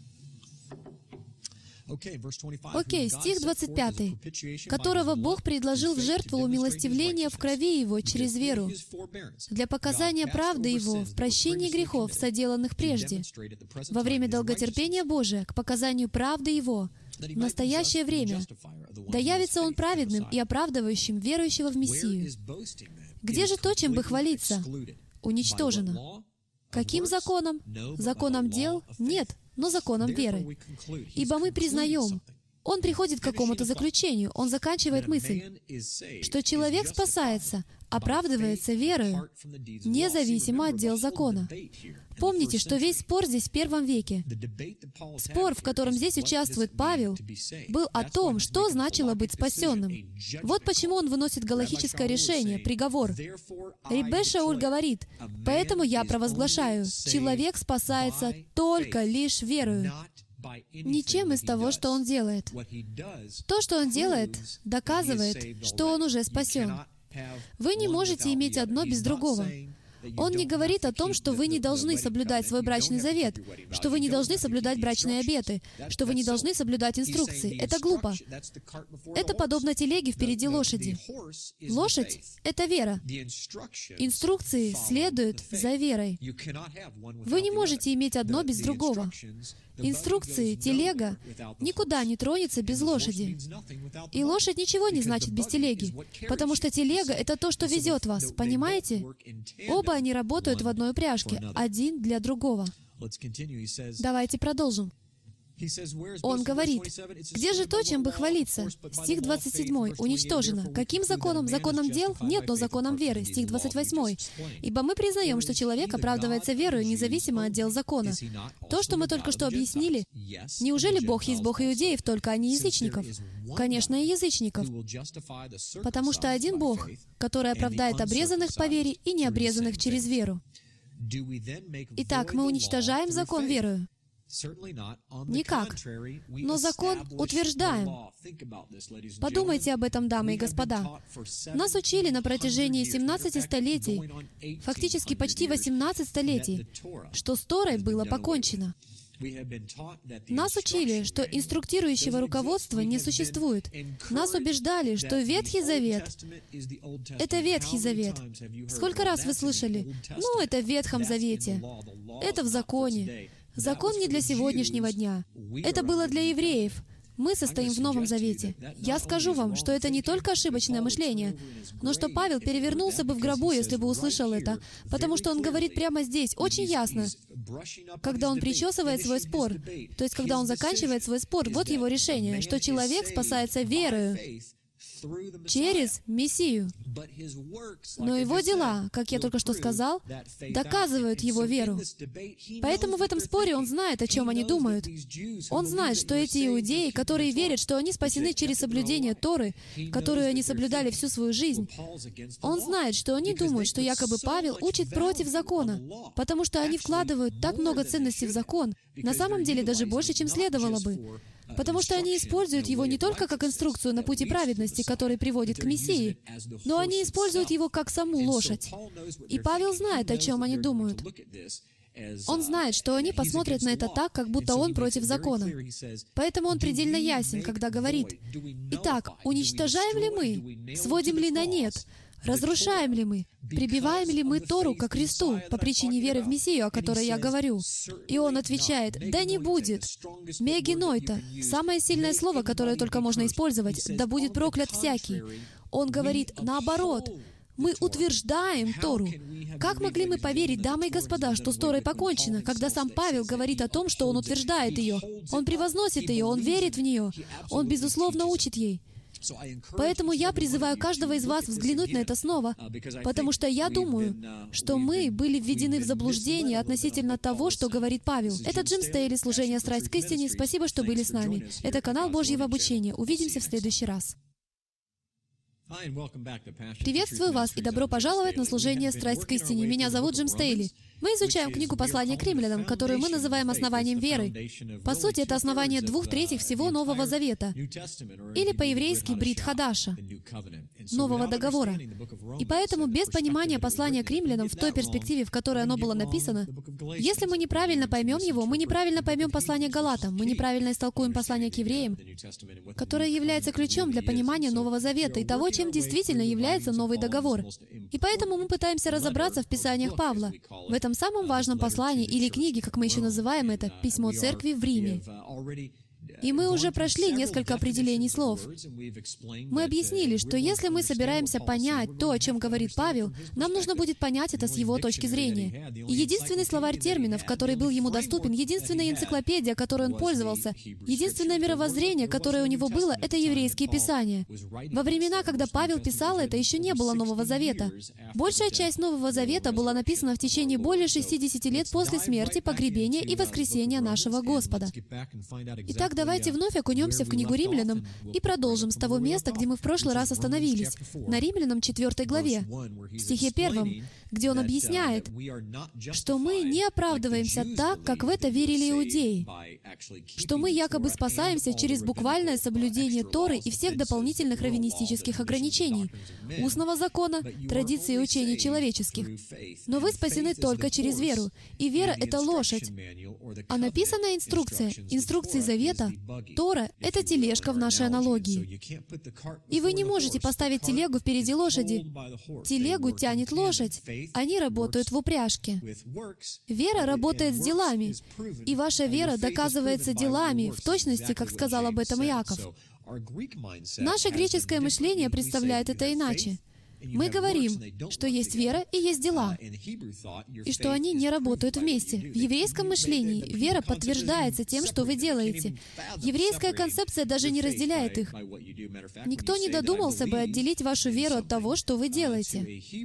Окей, стих двадцать пятый. «Которого Бог предложил в жертву умилостивления в крови Его через веру, для показания правды Его в прощении грехов, соделанных прежде, во время долготерпения Божия, к показанию правды Его, в настоящее время, да явится Он праведным и оправдывающим верующего в Мессию». Где же то, чем бы хвалиться? Уничтожено. Каким законом? Законом дел? Нет, но законом веры. Ибо мы признаем, он приходит к какому-то заключению, он заканчивает мысль, что человек спасается, оправдывается верою, независимо от дел закона. Помните, что весь спор здесь в первом веке, спор, в котором здесь участвует Павел, был о том, что значило быть спасенным. Вот почему он выносит галахическое решение, приговор. Реббе Шауль говорит: «Поэтому я провозглашаю, человек спасается только лишь верою». Ничем из того, что он делает. То, что он делает, доказывает, что он уже спасен. Вы не можете иметь одно без другого. Он не говорит о том, что вы не должны соблюдать свой брачный завет, что вы не должны соблюдать брачные обеты, что вы не должны соблюдать инструкции. Это глупо. Это подобно телеге впереди лошади. Лошадь — это вера. Инструкции следуют за верой. Вы не можете иметь одно без другого. Инструкции, телега никуда не тронется без лошади. И лошадь ничего не значит без телеги, потому что телега — это то, что везет вас, понимаете? Оба они работают в одной упряжке, один для другого. Давайте продолжим. Он говорит: «Где же то, чем бы хвалиться?» Стих двадцать седьмой. «Уничтожено. Каким законом? Законом дел? Нет, но законом веры». Стих двадцать восьмой. «Ибо мы признаем, что человек оправдывается верою, независимо от дел закона». То, что мы только что объяснили, неужели Бог есть Бог иудеев, только а не язычников? Конечно, и язычников. Потому что один Бог, который оправдает обрезанных по вере и необрезанных через веру. Итак, мы уничтожаем закон верою? Никак. Но закон утверждаем. Подумайте об этом, дамы и господа. Нас учили на протяжении семнадцати столетий, фактически почти восемнадцать столетий, что с Торой было покончено. Нас учили, что инструктирующего руководства не существует. Нас убеждали, что Ветхий Завет — это Ветхий Завет. Сколько раз вы слышали: «Ну, это в Ветхом Завете, это в законе». Закон не для сегодняшнего дня. Это было для евреев. Мы состоим в Новом Завете. Я скажу вам, что это не только ошибочное мышление, но что Павел перевернулся бы в гробу, если бы услышал это, потому что он говорит прямо здесь, очень ясно, когда он причесывает свой спор, то есть когда он заканчивает свой спор, вот его решение, что человек спасается верою через Мессию. Но его дела, как я только что сказал, доказывают его веру. Поэтому в этом споре он знает, о чем они думают. Он знает, что эти иудеи, которые верят, что они спасены через соблюдение Торы, которую они соблюдали всю свою жизнь, он знает, что они думают, что якобы Павел учит против закона, потому что они вкладывают так много ценностей в закон, на самом деле даже больше, чем следовало бы. Потому что они используют его не только как инструкцию на пути праведности, который приводит к Мессии, но они используют его как саму лошадь. И Павел знает, о чем они думают. Он знает, что они посмотрят на это так, как будто он против закона. Поэтому он предельно ясен, когда говорит: «Итак, уничтожаем ли мы? Сводим ли на нет? Разрушаем ли мы? Прибиваем ли мы Тору ко кресту по причине веры в Мессию, о которой я говорю?» И он отвечает: «Да не будет. Мегинойта» — самое сильное слово, которое только можно использовать. «Да будет проклят всякий». Он говорит наоборот. Мы утверждаем Тору. Как могли мы поверить, дамы и господа, что с Торой покончено, когда сам Павел говорит о том, что он утверждает ее? Он превозносит ее, он верит в нее, он, безусловно, учит ей. Поэтому я призываю каждого из вас взглянуть на это снова, потому что я думаю, что мы были введены в заблуждение относительно того, что говорит Павел. Это Джим Стейли, служение «Страсть к истине». Спасибо, что были с нами. Это канал Божьего обучения. Увидимся в следующий раз. Приветствую вас и добро пожаловать на служение «Страсть к истине». Меня зовут Джим Стейли. Мы изучаем книгу «Послание к римлянам», которую мы называем основанием веры. По сути, это основание двух третьих всего Нового Завета, или по-еврейски «Брит Хадаша», Нового Договора. И поэтому без понимания послания к римлянам в той перспективе, в которой оно было написано, если мы неправильно поймем его, мы неправильно поймем послание к Галатам, мы неправильно истолкуем послание к евреям, которое является ключом для понимания Нового Завета и того, чем действительно является Новый Договор. И поэтому мы пытаемся разобраться в Писаниях Павла, в этом самом важном послании, или книге, как мы еще называем это, «Письмо церкви в Риме». И мы уже прошли несколько определений слов. Мы объяснили, что если мы собираемся понять то, о чем говорит Павел, нам нужно будет понять это с его точки зрения. И единственный словарь терминов, который был ему доступен, единственная энциклопедия, которой он пользовался, единственное мировоззрение, которое у него было, это еврейские писания. Во времена, когда Павел писал это, еще не было Нового Завета. Большая часть Нового Завета была написана в течение более шестидесяти лет после смерти, погребения и воскресения нашего Господа. Итак, давайте вновь окунемся в книгу Римлянам и продолжим с того места, где мы в прошлый раз остановились, на Римлянам четвёртой главе, в стихе первом, где он объясняет, что мы не оправдываемся так, как в это верили иудеи, что мы якобы спасаемся через буквальное соблюдение Торы и всех дополнительных раввинистических ограничений, устного закона, традиций и учений человеческих. Но вы спасены только через веру, и вера — это лошадь. А написанная инструкция, инструкции Завета, Тора — это тележка в нашей аналогии. И вы не можете поставить телегу впереди лошади. Телегу тянет лошадь. Они работают в упряжке. Вера работает с делами. И ваша вера доказывается делами, в точности, как сказал об этом Иаков. Наше греческое мышление представляет это иначе. Мы говорим, что есть вера и есть дела, и что они не работают вместе. В еврейском мышлении вера подтверждается тем, что вы делаете. Еврейская концепция даже не разделяет их. Никто не додумался бы отделить вашу веру от того, что вы делаете.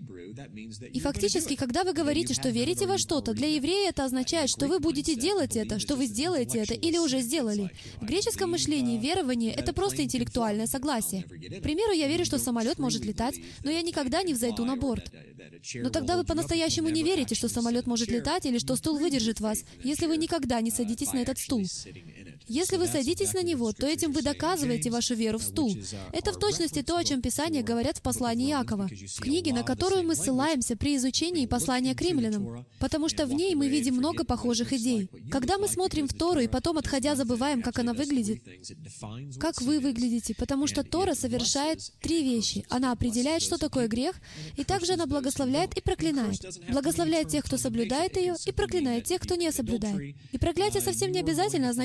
И фактически, когда вы говорите, что верите во что-то, для еврея это означает, что вы будете делать это, что вы сделаете это или уже сделали. В греческом мышлении верование — это просто интеллектуальное согласие. К примеру, я верю, что самолет может летать, но я никогда не взойду на борт. Но тогда вы по-настоящему не верите, что самолет может летать или что стул выдержит вас, если вы никогда не садитесь на этот стул. Если вы садитесь на него, то этим вы доказываете вашу веру в стул. Это в точности то, о чем Писания говорят в послании Иакова, в книге, на которую мы ссылаемся при изучении послания к римлянам, потому что в ней мы видим много похожих идей. Когда мы смотрим в Тору и потом, отходя, забываем, как она выглядит, как вы выглядите, потому что Тора совершает три вещи. Она определяет, что такое грех, и также она благословляет и проклинает. Благословляет тех, кто соблюдает ее, и проклинает тех, кто не соблюдает. И проклятие совсем не обязательно означает вечное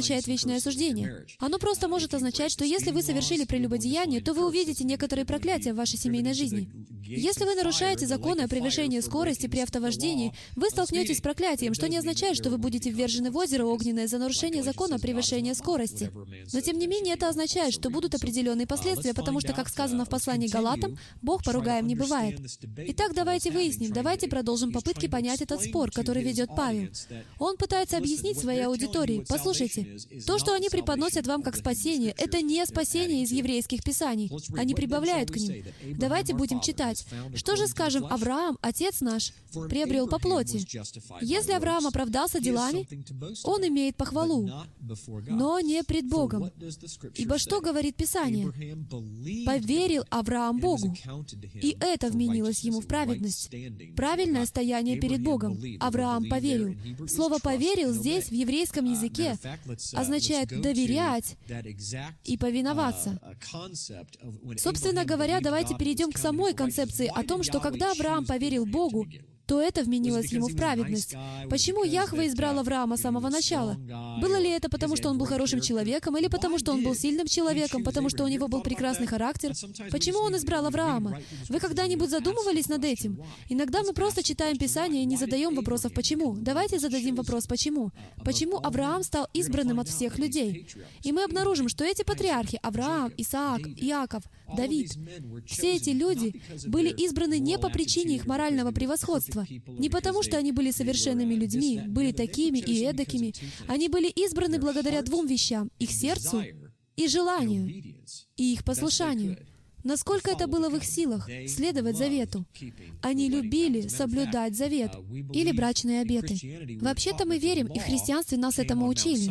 брачное осуждение. Оно просто может означать, что если вы совершили прелюбодеяние, то вы увидите некоторые проклятия в вашей семейной жизни. Если вы нарушаете законы о превышении скорости при автовождении, вы столкнетесь с проклятием, что не означает, что вы будете ввержены в озеро огненное за нарушение закона о превышении скорости. Но тем не менее, это означает, что будут определенные последствия, потому что, как сказано в послании к Галатам, Бог поругаем не бывает. Итак, давайте выясним, давайте продолжим попытки понять этот спор, который ведет Павел. Он пытается объяснить своей аудитории: послушайте, то, что они преподносят вам как спасение, это не спасение из еврейских писаний. Они прибавляют к ним. Давайте будем читать. Что же, скажем, Авраам, отец наш, приобрел по плоти? Если Авраам оправдался делами, он имеет похвалу, но не пред Богом. Ибо что говорит Писание? «Поверил Авраам Богу, и это вменилось ему в праведность». Правильное стояние перед Богом. Авраам поверил. Слово «поверил» здесь, в еврейском языке, означает «доверять» и «повиноваться». Собственно говоря, давайте перейдем к самой концепции о том, что когда Авраам поверил Богу, то это вменилось ему в праведность. Почему Яхве избрал Авраама с самого начала? Было ли это потому, что он был хорошим человеком, или потому, что он был сильным человеком, потому что у него был прекрасный характер? Почему он избрал Авраама? Вы когда-нибудь задумывались над этим? Иногда мы просто читаем Писание и не задаем вопросов «почему?». Давайте зададим вопрос «почему?». Почему Авраам стал избранным от всех людей? И мы обнаружим, что эти патриархи — Авраам, Исаак, Иаков, Давид — все эти люди были избраны не по причине их морального превосходства, не потому, что они были совершенными людьми, были такими и эдакими. Они были избраны благодаря двум вещам — их сердцу и желанию, и их послушанию. Насколько это было в их силах — следовать завету. Они любили соблюдать завет или брачные обеты. Вообще-то мы верим, и в христианстве нас этому учили,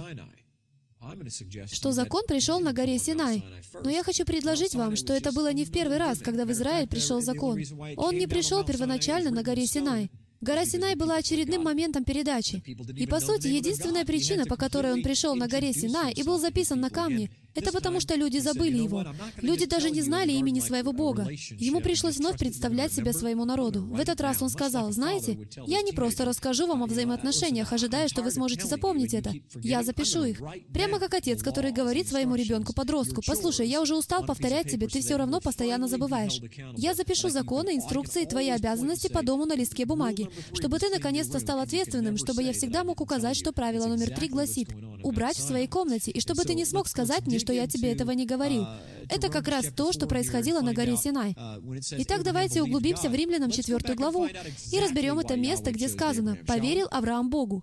что закон пришел на горе Синай. Но я хочу предложить вам, что это было не в первый раз, когда в Израиль пришел закон. Он не пришел первоначально на горе Синай. Гора Синай была очередным моментом передачи. И, по сути, единственная причина, по которой он пришел на горе Синай и был записан на камне, это потому, что люди забыли его. Люди даже не знали имени своего Бога. Ему пришлось вновь представлять себя своему народу. В этот раз он сказал: «Знаете, я не просто расскажу вам о взаимоотношениях, ожидая, что вы сможете запомнить это. Я запишу их». Прямо как отец, который говорит своему ребенку-подростку: «Послушай, я уже устал повторять тебе, ты все равно постоянно забываешь. Я запишу законы, инструкции и твои обязанности по дому на листке бумаги, чтобы ты наконец-то стал ответственным, чтобы я всегда мог указать, что правило номер три гласит: убрать в своей комнате, и чтобы ты не смог сказать мне, что я тебе этого не говорил». Это как раз то, что происходило на горе Синай. Итак, давайте углубимся в Римлянам четвертую главу и разберем это место, где сказано «поверил Авраам Богу».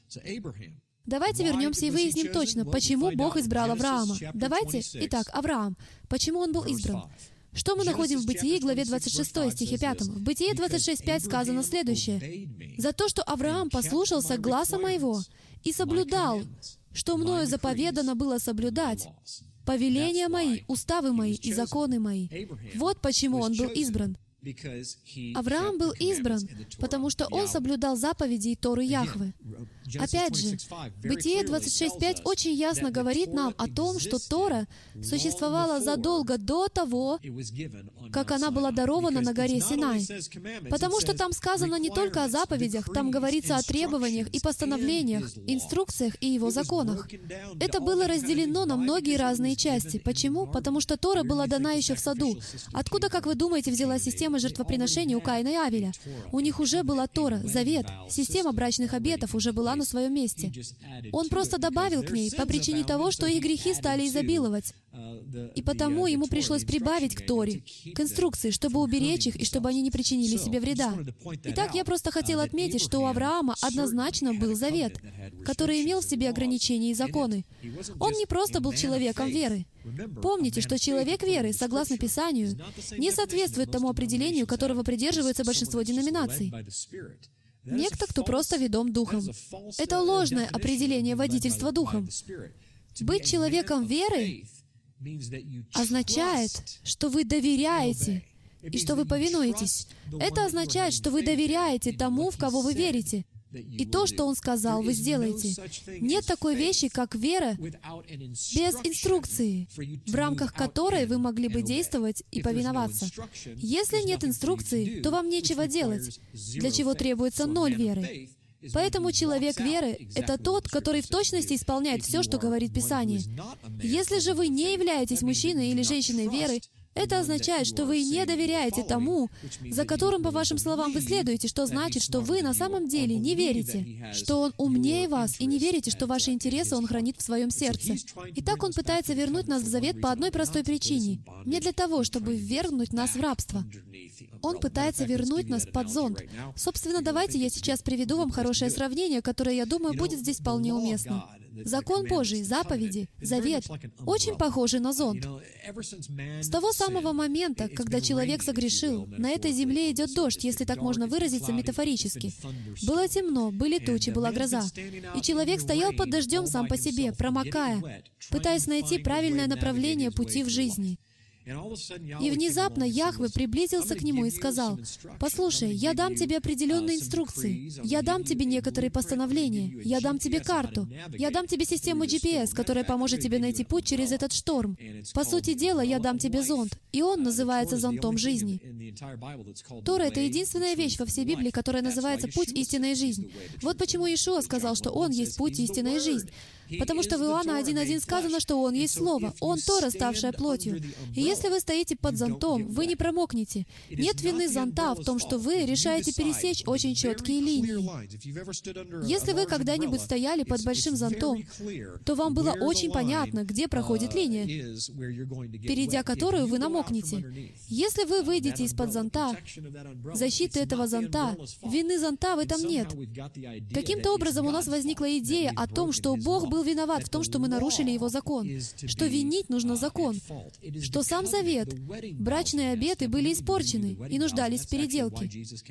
Давайте вернемся и выясним точно, почему Бог избрал Авраама. Давайте, итак, Авраам. Почему он был избран? Что мы находим в Бытии, главе двадцать шесть, стихе пятом? В Бытии двадцать шесть пять сказано следующее: «За то, что Авраам послушался гласа моего и соблюдал, что мною заповедано было соблюдать, повеления мои, уставы мои и законы мои». Вот почему он был избран. Авраам был избран, потому что он соблюдал заповеди Торы Яхве. Опять же, Бытие двадцать шесть пять очень ясно говорит нам о том, что Тора существовала задолго до того, как она была дарована на горе Синай. Потому что там сказано не только о заповедях, там говорится о требованиях и постановлениях, инструкциях и его законах. Это было разделено на многие разные части. Почему? Потому что Тора была дана еще в саду. Откуда, как вы думаете, взялась система жертвоприношений у Каина и Авеля? У них уже была Тора, завет, система брачных обетов уже была на своем месте. Он просто добавил к ней по причине того, что их грехи стали изобиловать. И потому ему пришлось прибавить к Торе, к инструкции, чтобы уберечь их и чтобы они не причинили себе вреда. Итак, я просто хотел отметить, что у Авраама однозначно был завет, который имел в себе ограничения и законы. Он не просто был человеком веры. Помните, что человек веры, согласно Писанию, не соответствует тому определению, которого придерживается большинство деноминаций. Некто, кто просто ведом Духом. Это ложное определение водительства Духом. Быть человеком веры означает, что вы доверяете и что вы повинуетесь. Это означает, что вы доверяете тому, в кого вы верите. И то, что Он сказал, вы сделаете. Нет такой вещи, как вера без инструкции, в рамках которой вы могли бы действовать и повиноваться. Если нет инструкции, то вам нечего делать, для чего требуется ноль веры. Поэтому человек веры — это тот, который в точности исполняет все, что говорит Писание. Если же вы не являетесь мужчиной или женщиной веры, это означает, что вы не доверяете тому, за которым, по вашим словам, вы следуете, что значит, что вы на самом деле не верите, что Он умнее вас, и не верите, что ваши интересы Он хранит в своем сердце. Итак, Он пытается вернуть нас в завет по одной простой причине. Не для того, чтобы ввергнуть нас в рабство. Он пытается вернуть нас под зонт. Собственно, давайте я сейчас приведу вам хорошее сравнение, которое, я думаю, будет здесь вполне уместно. Закон Божий, заповеди, завет очень похожи на зонт. С того самого момента, когда человек согрешил, на этой земле идет дождь, если так можно выразиться метафорически. Было темно, были тучи, была гроза. И человек стоял под дождем сам по себе, промокая, пытаясь найти правильное направление пути в жизни. И внезапно Яхве приблизился к нему и сказал: «Послушай, я дам тебе определенные инструкции, я дам тебе некоторые постановления, я дам тебе карту, я дам тебе систему джи пи эс, которая поможет тебе найти путь через этот шторм. По сути дела, я дам тебе зонт, и он называется зонтом жизни». Тора — это единственная вещь во всей Библии, которая называется «Путь, истина и жизнь». Вот почему Иешуа сказал, что Он есть путь, истина и жизнь. Потому что в Иоанна один один сказано, что Он есть Слово, Он Тора, ставшая плотью. И если вы стоите под зонтом, вы не промокнете. Нет вины зонта в том, что вы решаете пересечь очень четкие линии. Если вы когда-нибудь стояли под большим зонтом, то вам было очень понятно, где проходит линия, перейдя которую вы намокнете. Если вы выйдете из-под зонта, защиты этого зонта, вины зонта в этом нет. Каким-то образом у нас возникла идея о том, что Бог был виноват в том, что мы нарушили Его закон, что винить нужно закон, что сам завет, брачные обеты были испорчены и нуждались в переделке,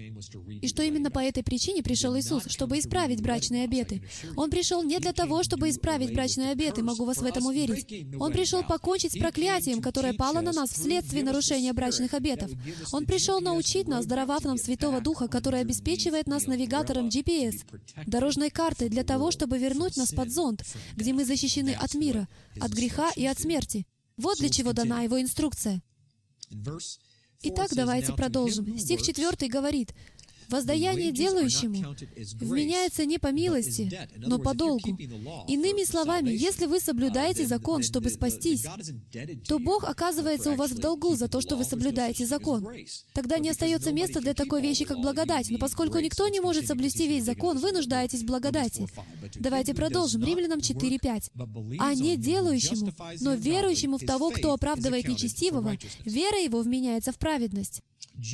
и что именно по этой причине пришел Иисус, чтобы исправить брачные обеты. Он пришел не для того, чтобы исправить брачные обеты, могу вас в этом уверить. Он пришел покончить с проклятием, которое пало на нас вследствие нарушения брачных обетов. Он пришел научить нас, даровав нам Святого Духа, который обеспечивает нас навигатором джи пи эс, дорожной картой для того, чтобы вернуть нас под зонт, где мы защищены от мира, от греха и от смерти. Вот для чего дана Его инструкция. Итак, давайте продолжим. Стих четвертый говорит: «Воздаяние делающему вменяется не по милости, но по долгу». Иными словами, если вы соблюдаете закон, чтобы спастись, то Бог оказывается у вас в долгу за то, что вы соблюдаете закон. Тогда не остается места для такой вещи, как благодать. Но поскольку никто не может соблюсти весь закон, вы нуждаетесь в благодати. Давайте продолжим. Римлянам четыре пять. «А не делающему, но верующему в того, кто оправдывает нечестивого, вера его вменяется в праведность».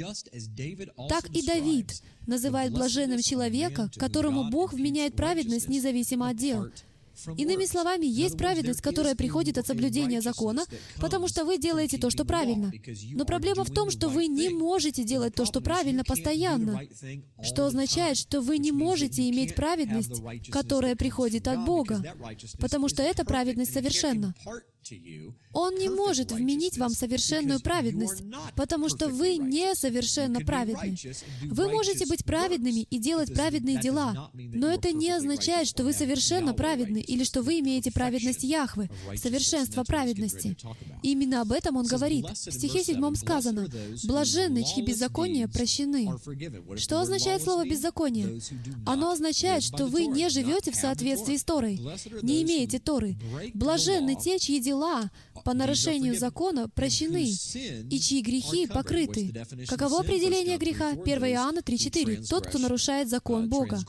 Так и Давид называет блаженным человека, которому Бог вменяет праведность независимо от дел. Иными словами, есть праведность, которая приходит от соблюдения закона, потому что вы делаете то, что правильно. Но проблема в том, что вы не можете делать то, что правильно, постоянно, что означает, что вы не можете иметь праведность, которая приходит от Бога, потому что эта праведность совершенна. Он не может вменить вам совершенную праведность, потому что вы не совершенно праведны. Вы можете быть праведными и делать праведные дела, но это не означает, что вы совершенно праведны или что вы имеете праведность Яхве, совершенство праведности. И именно об этом он говорит. В стихе седьмом сказано: «Блаженны, чьи беззакония прощены». Что означает слово «беззаконие»? Оно означает, что вы не живете в соответствии с Торой, не имеете Торы. Блаженны те, чьи дела по нарушению закона прощены, и чьи грехи покрыты. Каково определение греха? первое Иоанна три четыре. Тот, кто нарушает закон Бога.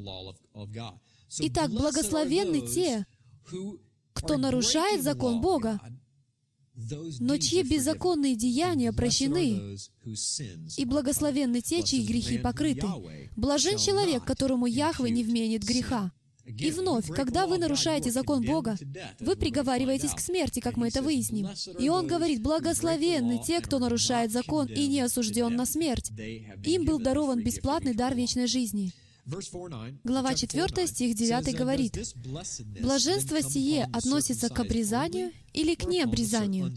Итак, благословенны те, кто нарушает закон Бога, но чьи беззаконные деяния прощены, и благословенны те, чьи грехи покрыты. Блажен человек, которому Яхве не вменит греха. И вновь, когда вы нарушаете закон Бога, вы приговариваетесь к смерти, как мы это выясним. И Он говорит: «Благословенны те, кто нарушает закон и не осужден на смерть. Им был дарован бесплатный дар вечной жизни». Глава четвёртая, стих девятый говорит: «Блаженство сие относится к обрезанию или к необрезанию?»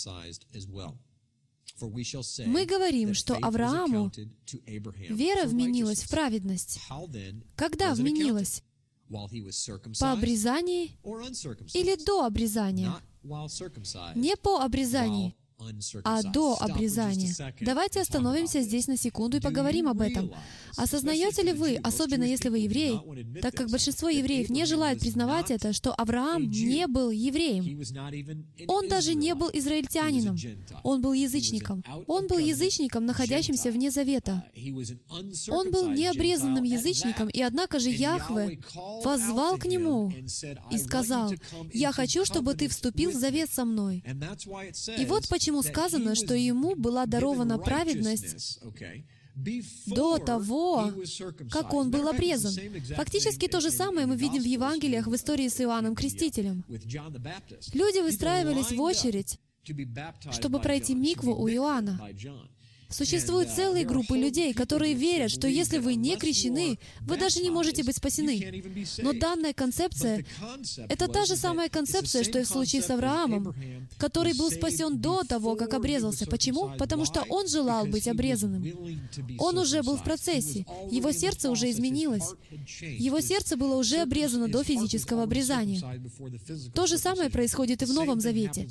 Мы говорим, что Аврааму вера вменилась в праведность. Когда вменилась? По обрезании или до обрезания? Не по обрезании, а до обрезания. Давайте остановимся здесь на секунду и поговорим об этом. Осознаете ли вы, особенно если вы еврей, так как большинство евреев не желают признавать это, что Авраам не был евреем? Он даже не был израильтянином. Он был язычником. Он был язычником, находящимся вне завета. Он был необрезанным язычником, и однако же Яхве воззвал к нему и сказал: «Я хочу, чтобы ты вступил в завет со мной». И вот почему сказано, что ему была дарована праведность до того, как он был обрезан. Фактически то же самое мы видим в Евангелиях в истории с Иоанном Крестителем. Люди выстраивались в очередь, чтобы пройти микву у Иоанна. Существуют целые группы людей, которые верят, что если вы не крещены, вы даже не можете быть спасены. Но данная концепция — это та же самая концепция, что и в случае с Авраамом, который был спасен до того, как обрезался. Почему? Потому что он желал быть обрезанным. Он уже был в процессе. Его сердце уже изменилось. Его сердце было уже обрезано до физического обрезания. То же самое происходит и в Новом Завете.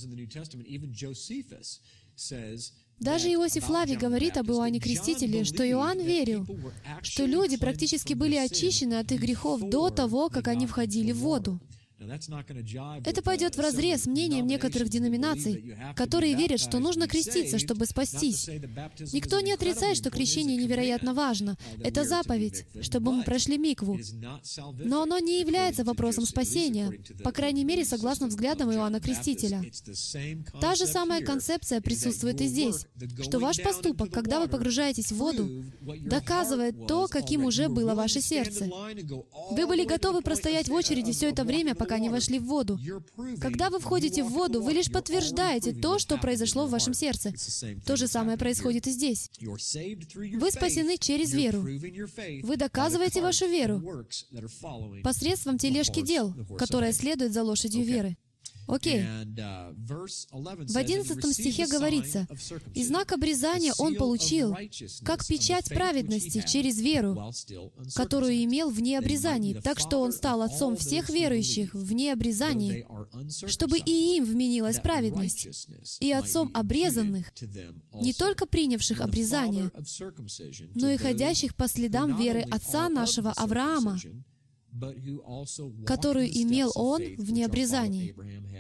Даже Иосиф Флавий говорит об Иоанне Крестителе, что Иоанн верил, что люди практически были очищены от их грехов до того, как они входили в воду. Это пойдет вразрез с мнением некоторых деноминаций, которые верят, что нужно креститься, чтобы спастись. Никто не отрицает, что крещение невероятно важно. Это заповедь, чтобы мы прошли микву. Но оно не является вопросом спасения, по крайней мере, согласно взглядам Иоанна Крестителя. Та же самая концепция присутствует и здесь, что ваш поступок, когда вы погружаетесь в воду, доказывает то, каким уже было ваше сердце. Вы были готовы простоять в очереди все это время, пока не вошли в воду. Когда вы входите в воду, вы лишь подтверждаете то, что произошло в вашем сердце. То же самое происходит и здесь. Вы спасены через веру. Вы доказываете вашу веру посредством тележки дел, которая следует за лошадью веры. Окей. В одиннадцатом стихе говорится: «И знак обрезания он получил, как печать праведности через веру, которую имел вне обрезаний, так что он стал отцом всех верующих вне обрезаний, чтобы и им вменилась праведность, и отцом обрезанных, не только принявших обрезание, но и ходящих по следам веры отца нашего Авраама, которую имел он вне обрезаний».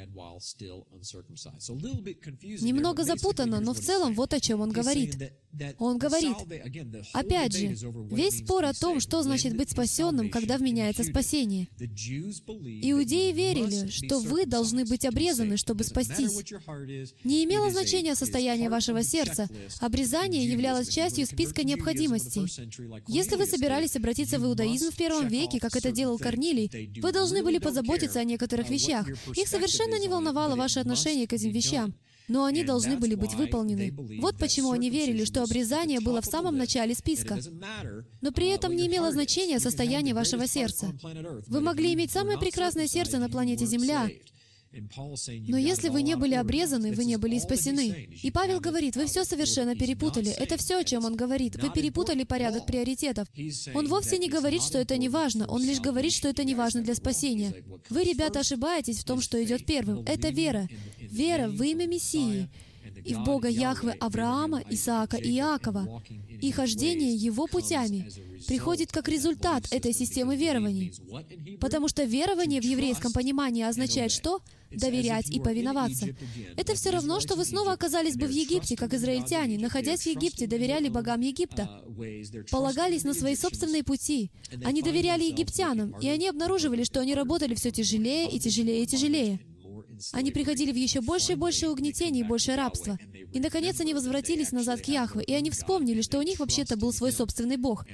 Немного запутанно, но в целом вот о чем он говорит. Он говорит, опять же, весь спор о том, что значит быть спасенным, когда вменяется спасение. Иудеи верили, что вы должны быть обрезаны, чтобы спастись. Не имело значения состояние вашего сердца. Обрезание являлось частью списка необходимостей. Если вы собирались обратиться в иудаизм в первом веке, как это делал Корнилий, вы должны были позаботиться о некоторых вещах. Их совершенно не волновало ваше отношение к этим вещам, но они должны были быть выполнены. Вот почему они верили, что обрезание было в самом начале списка. Но при этом не имело значения состояние вашего сердца. Вы могли иметь самое прекрасное сердце на планете Земля, но если вы не были обрезаны, вы не были и спасены. И Павел говорит, вы все совершенно перепутали. Это все, о чем он говорит. Вы перепутали порядок приоритетов. Он вовсе не говорит, что это не важно. Он лишь говорит, что это не важно для спасения. Вы, ребята, ошибаетесь в том, что идет первым. Это вера. Вера в имя Мессии и в Бога Яхве Авраама, Исаака и Иакова. И хождение Его путями приходит как результат этой системы верований. Потому что верование в еврейском понимании означает что? Доверять и повиноваться. Это все равно, что вы снова оказались бы в Египте, как израильтяне, находясь в Египте, доверяли богам Египта, полагались на свои собственные пути. Они доверяли египтянам, и они обнаруживали, что они работали все тяжелее и тяжелее и тяжелее. Они приходили в еще больше и больше угнетений и больше рабства. И, наконец, они возвратились назад к Яхве, и они вспомнили, что у них вообще-то был свой собственный Бог.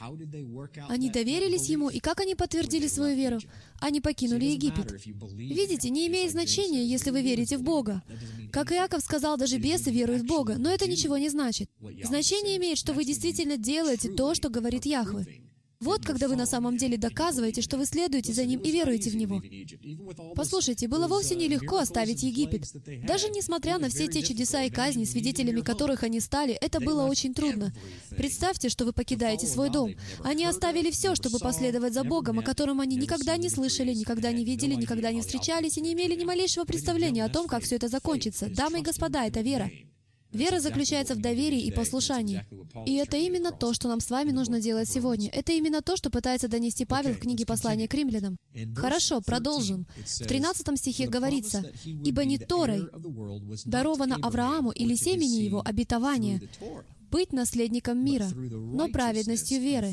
Они доверились Ему, и как они подтвердили свою веру? Они покинули Египет. Видите, не имеет значения, если вы верите в Бога. Как Иаков сказал, даже бесы веруют в Бога, но это ничего не значит. Значение имеет, что вы действительно делаете то, что говорит Яхве. Вот когда вы на самом деле доказываете, что вы следуете за Ним и веруете в Него. Послушайте, было вовсе нелегко оставить Египет. Даже несмотря на все те чудеса и казни, свидетелями которых они стали, это было очень трудно. Представьте, что вы покидаете свой дом. Они оставили все, чтобы последовать за Богом, о котором они никогда не слышали, никогда не видели, никогда не встречались и не имели ни малейшего представления о том, как все это закончится. Дамы и господа, это вера. Вера заключается в доверии и послушании. И это именно то, что нам с вами нужно делать сегодня. Это именно то, что пытается донести Павел в книге послания к римлянам. Хорошо, продолжим. В тринадцатом стихе говорится: «Ибо не Торой даровано Аврааму или семени его обетование быть наследником мира, но праведностью веры».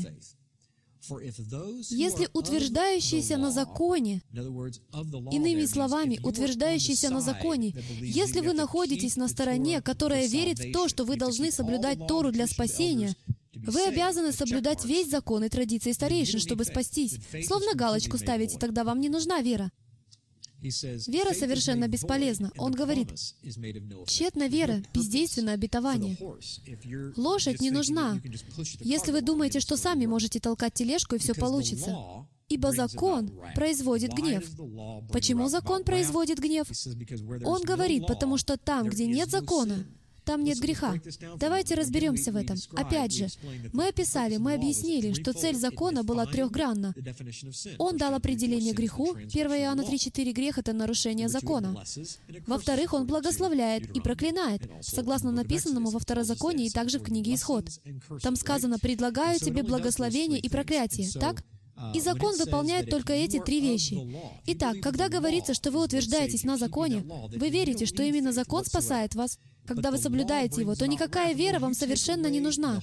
Если утверждающиеся на законе, иными словами, утверждающиеся на законе, если вы находитесь на стороне, которая верит в то, что вы должны соблюдать Тору для спасения, вы обязаны соблюдать весь закон и традиции старейшин, чтобы спастись. Словно галочку ставите, тогда вам не нужна вера. Вера совершенно бесполезна. Он говорит, тщетна вера, бездейственно обетование. Лошадь не нужна, если вы думаете, что сами можете толкать тележку, и все получится. Ибо закон производит гнев. Почему закон производит гнев? Он говорит, потому что там, где нет закона, там нет греха. Давайте разберемся в этом. Опять же, мы описали, мы объяснили, что цель закона была трехгранна. Он дал определение греху. первое Иоанна три четыре. Грех — это нарушение закона. Во-вторых, он благословляет и проклинает, согласно написанному во Второзаконии и также в книге Исход. Там сказано: «Предлагаю тебе благословение и проклятие». Так? И закон выполняет только эти три вещи. Итак, когда говорится, что вы утверждаетесь на законе, вы верите, что именно закон спасает вас. Когда вы соблюдаете его, то никакая вера вам совершенно не нужна.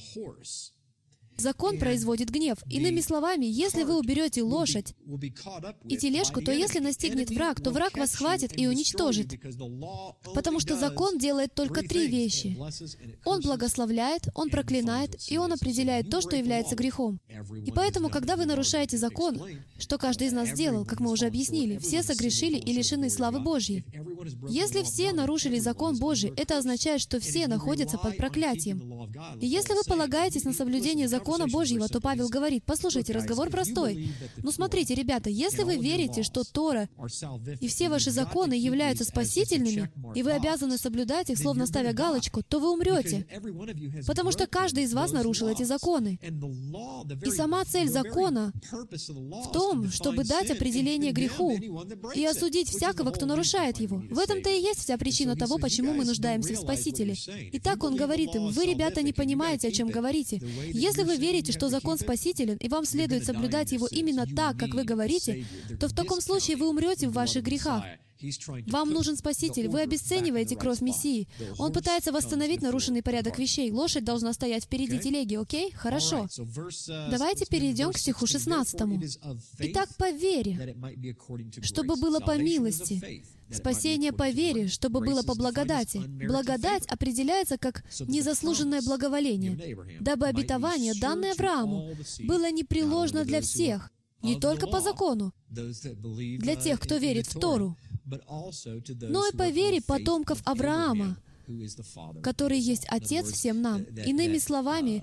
Закон производит гнев. Иными словами, если вы уберете лошадь и тележку, то если настигнет враг, то враг вас схватит и уничтожит. Потому что закон делает только три вещи. Он благословляет, он проклинает, и он определяет то, что является грехом. И поэтому, когда вы нарушаете закон, что каждый из нас сделал, как мы уже объяснили, все согрешили и лишены славы Божьей. Если все нарушили закон Божий, это означает, что все находятся под проклятием. И если вы полагаетесь на соблюдение закона Божьего, то Павел говорит, послушайте, разговор простой. Ну смотрите, ребята, если вы верите, что Тора и все ваши законы являются спасительными, и вы обязаны соблюдать их, словно ставя галочку, то вы умрете. Потому что каждый из вас нарушил эти законы. И сама цель закона в том, чтобы дать определение греху и осудить всякого, кто нарушает его. В этом-то и есть вся причина того, почему мы нуждаемся в Спасителе. Итак, он говорит им, вы, ребята, не понимаете, о чем говорите. Если вы верите, что закон спасителен, и вам следует соблюдать его именно так, как вы говорите, то в таком случае вы умрете в ваших грехах. Вам нужен Спаситель, вы обесцениваете кровь Мессии. Он пытается восстановить нарушенный порядок вещей. Лошадь должна стоять впереди телеги, окей? Хорошо. Давайте перейдем к стиху шестнадцатому. «Итак, по вере, чтобы было по милости. Спасение по вере, чтобы было по благодати». Благодать определяется как незаслуженное благоволение, дабы обетование, данное Аврааму, было непреложно для всех, не только по закону, для тех, кто верит в Тору, но и по вере потомков Авраама, который есть Отец всем нам. Иными словами,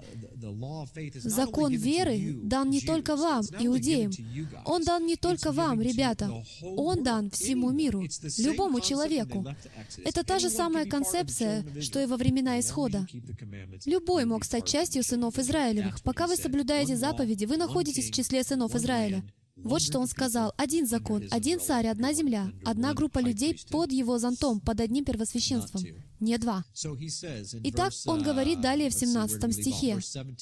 закон веры дан не только вам, иудеям. Он дан не только вам, ребята. Он дан всему миру, любому человеку. Это та же самая концепция, что и во времена Исхода. Любой мог стать частью сынов Израилевых. Пока вы соблюдаете заповеди, вы находитесь в числе сынов Израиля. Вот что он сказал. Один закон, один царь, одна земля, одна группа людей под его зонтом, под одним первосвященством. Не два. Итак, он говорит далее в семнадцатом стихе.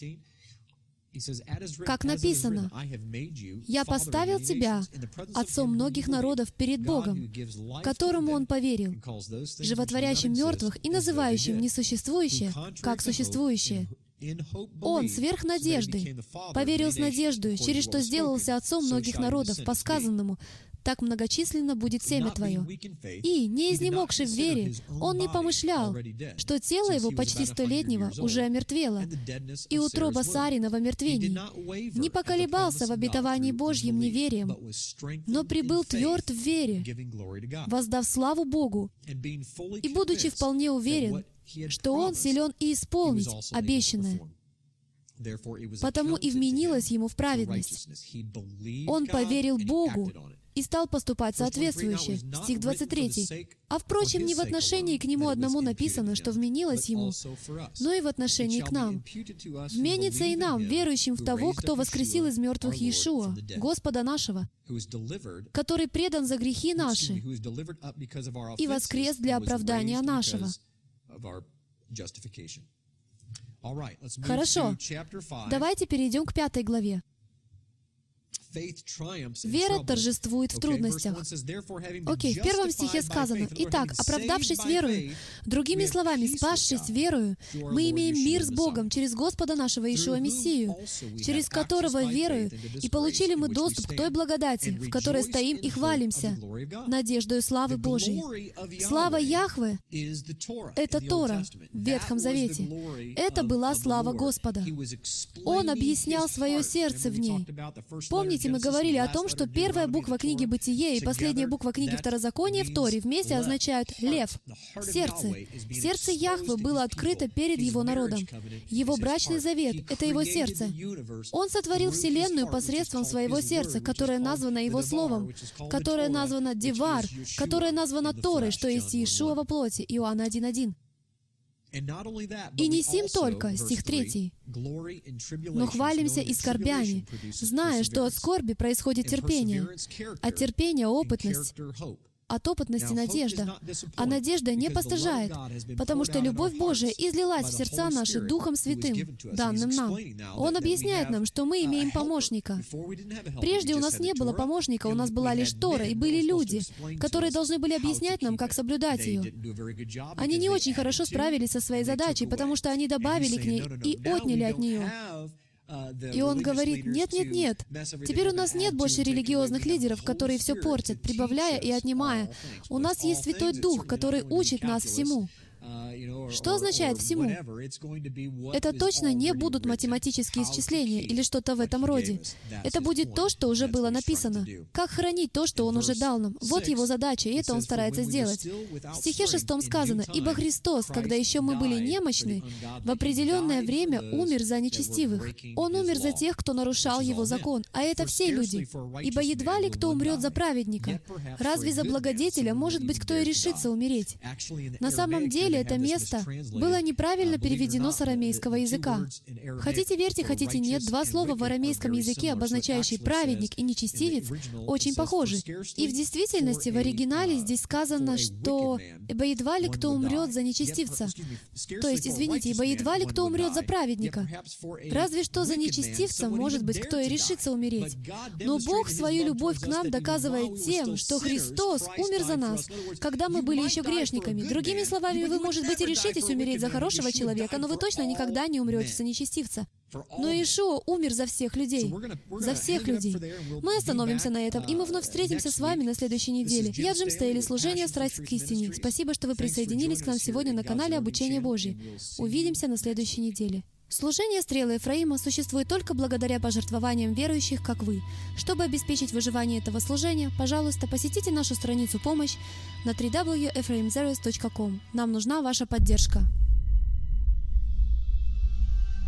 Как написано, «Я поставил тебя отцом многих народов перед Богом, которому Он поверил, животворящим мертвых и называющим несуществующее, как существующее». Он сверх надежды поверил с надеждой, через что сделался отцом многих народов, по сказанному, «Так многочисленно будет семя твое». И, не изнемогший в вере, он не помышлял, что тело его почти столетнего уже омертвело, и утроба Сарина в омертвении. Не поколебался в обетовании Божьим неверием, но прибыл тверд в вере, воздав славу Богу, и, будучи вполне уверен, что он силен и исполнить обещанное. Потому и вменилось ему в праведность. Он поверил Богу и стал поступать соответствующе. Стих двадцать третий. А впрочем, не в отношении к нему одному написано, что вменилось ему, но и в отношении к нам. Вменится и нам, верующим в того, кто воскресил из мертвых Иешуа, Господа нашего, который предан за грехи наши и воскрес для оправдания нашего. Хорошо. Давайте перейдем к пятой главе. Вера торжествует в трудностях. Окей, в первом стихе сказано: «Итак, оправдавшись верою, другими словами, спасшись верою, мы имеем мир с Богом через Господа нашего Иешуа Мессию, через которого верою и получили мы доступ к той благодати, в которой стоим и хвалимся, надеждою славы Божией». Слава Яхве — это Тора в Ветхом Завете. Это была слава Господа. Он объяснял свое сердце в ней. Помните, мы говорили о том, что первая буква книги Бытие и последняя буква книги Второзакония в Торе вместе означают «лев», «сердце». Сердце Яхве было открыто перед Его народом. Его брачный завет — это Его сердце. Он сотворил Вселенную посредством своего сердца, которое названо Его Словом, которое названо Девар, которое названо Торой, что есть Иешуа во плоти, Иоанна один один. «И не сим только», стих третий, «но хвалимся и скорбями, зная, что от скорби происходит терпение, от терпения — опытность, от опытности — надежда. А надежда не постыжает, потому что любовь Божия излилась в сердца наши Духом Святым, данным нам». Он объясняет нам, что мы имеем помощника. Прежде у нас не было помощника, у нас была лишь Тора, и были люди, которые должны были объяснять нам, как соблюдать ее. Они не очень хорошо справились со своей задачей, потому что они добавили к ней и отняли от нее. И он говорит: нет, нет, нет. Теперь у нас нет больше религиозных лидеров, которые все портят, прибавляя и отнимая. У нас есть Святой Дух, который учит нас всему. Что означает «всему»? Это точно не будут математические исчисления или что-то в этом роде. Это будет то, что уже было написано. Как хранить то, что Он уже дал нам? Вот Его задача, и это Он старается сделать. В стихе шестом сказано: «Ибо Христос, когда еще мы были немощны, в определенное время умер за нечестивых». Он умер за тех, кто нарушал Его закон, а это все люди. «Ибо едва ли кто умрет за праведника. Разве за благодетеля, может быть, кто и решится умереть?» На самом деле, это место было неправильно переведено с арамейского языка. Хотите верьте, хотите нет, два слова в арамейском языке, обозначающие «праведник» и «нечестивец», очень похожи. И в действительности в оригинале здесь сказано, что «ибо едва ли кто умрет за нечестивца». То есть, извините, «ибо едва ли кто умрет за праведника». Разве что за нечестивца, может быть, кто и решится умереть. Но Бог свою любовь к нам доказывает тем, что Христос умер за нас, когда мы были еще грешниками. Другими словами, вы, может быть, и решитесь умереть за хорошего человека, но вы точно никогда не умрете за нечестивца. Но Иешуа умер за всех людей. За всех людей. Мы остановимся на этом, и мы вновь встретимся с вами на следующей неделе. Я Джим Стейли, служение «Страсть к истине». Спасибо, что вы присоединились к нам сегодня на канале «Обучение Божье». Увидимся на следующей неделе. Служение «Стрелы Ефраима» существует только благодаря пожертвованиям верующих, как вы. Чтобы обеспечить выживание этого служения, пожалуйста, посетите нашу страницу «Помощь» на дабл ю дабл ю дабл ю точка ефраимзерес точка ком. Нам нужна ваша поддержка.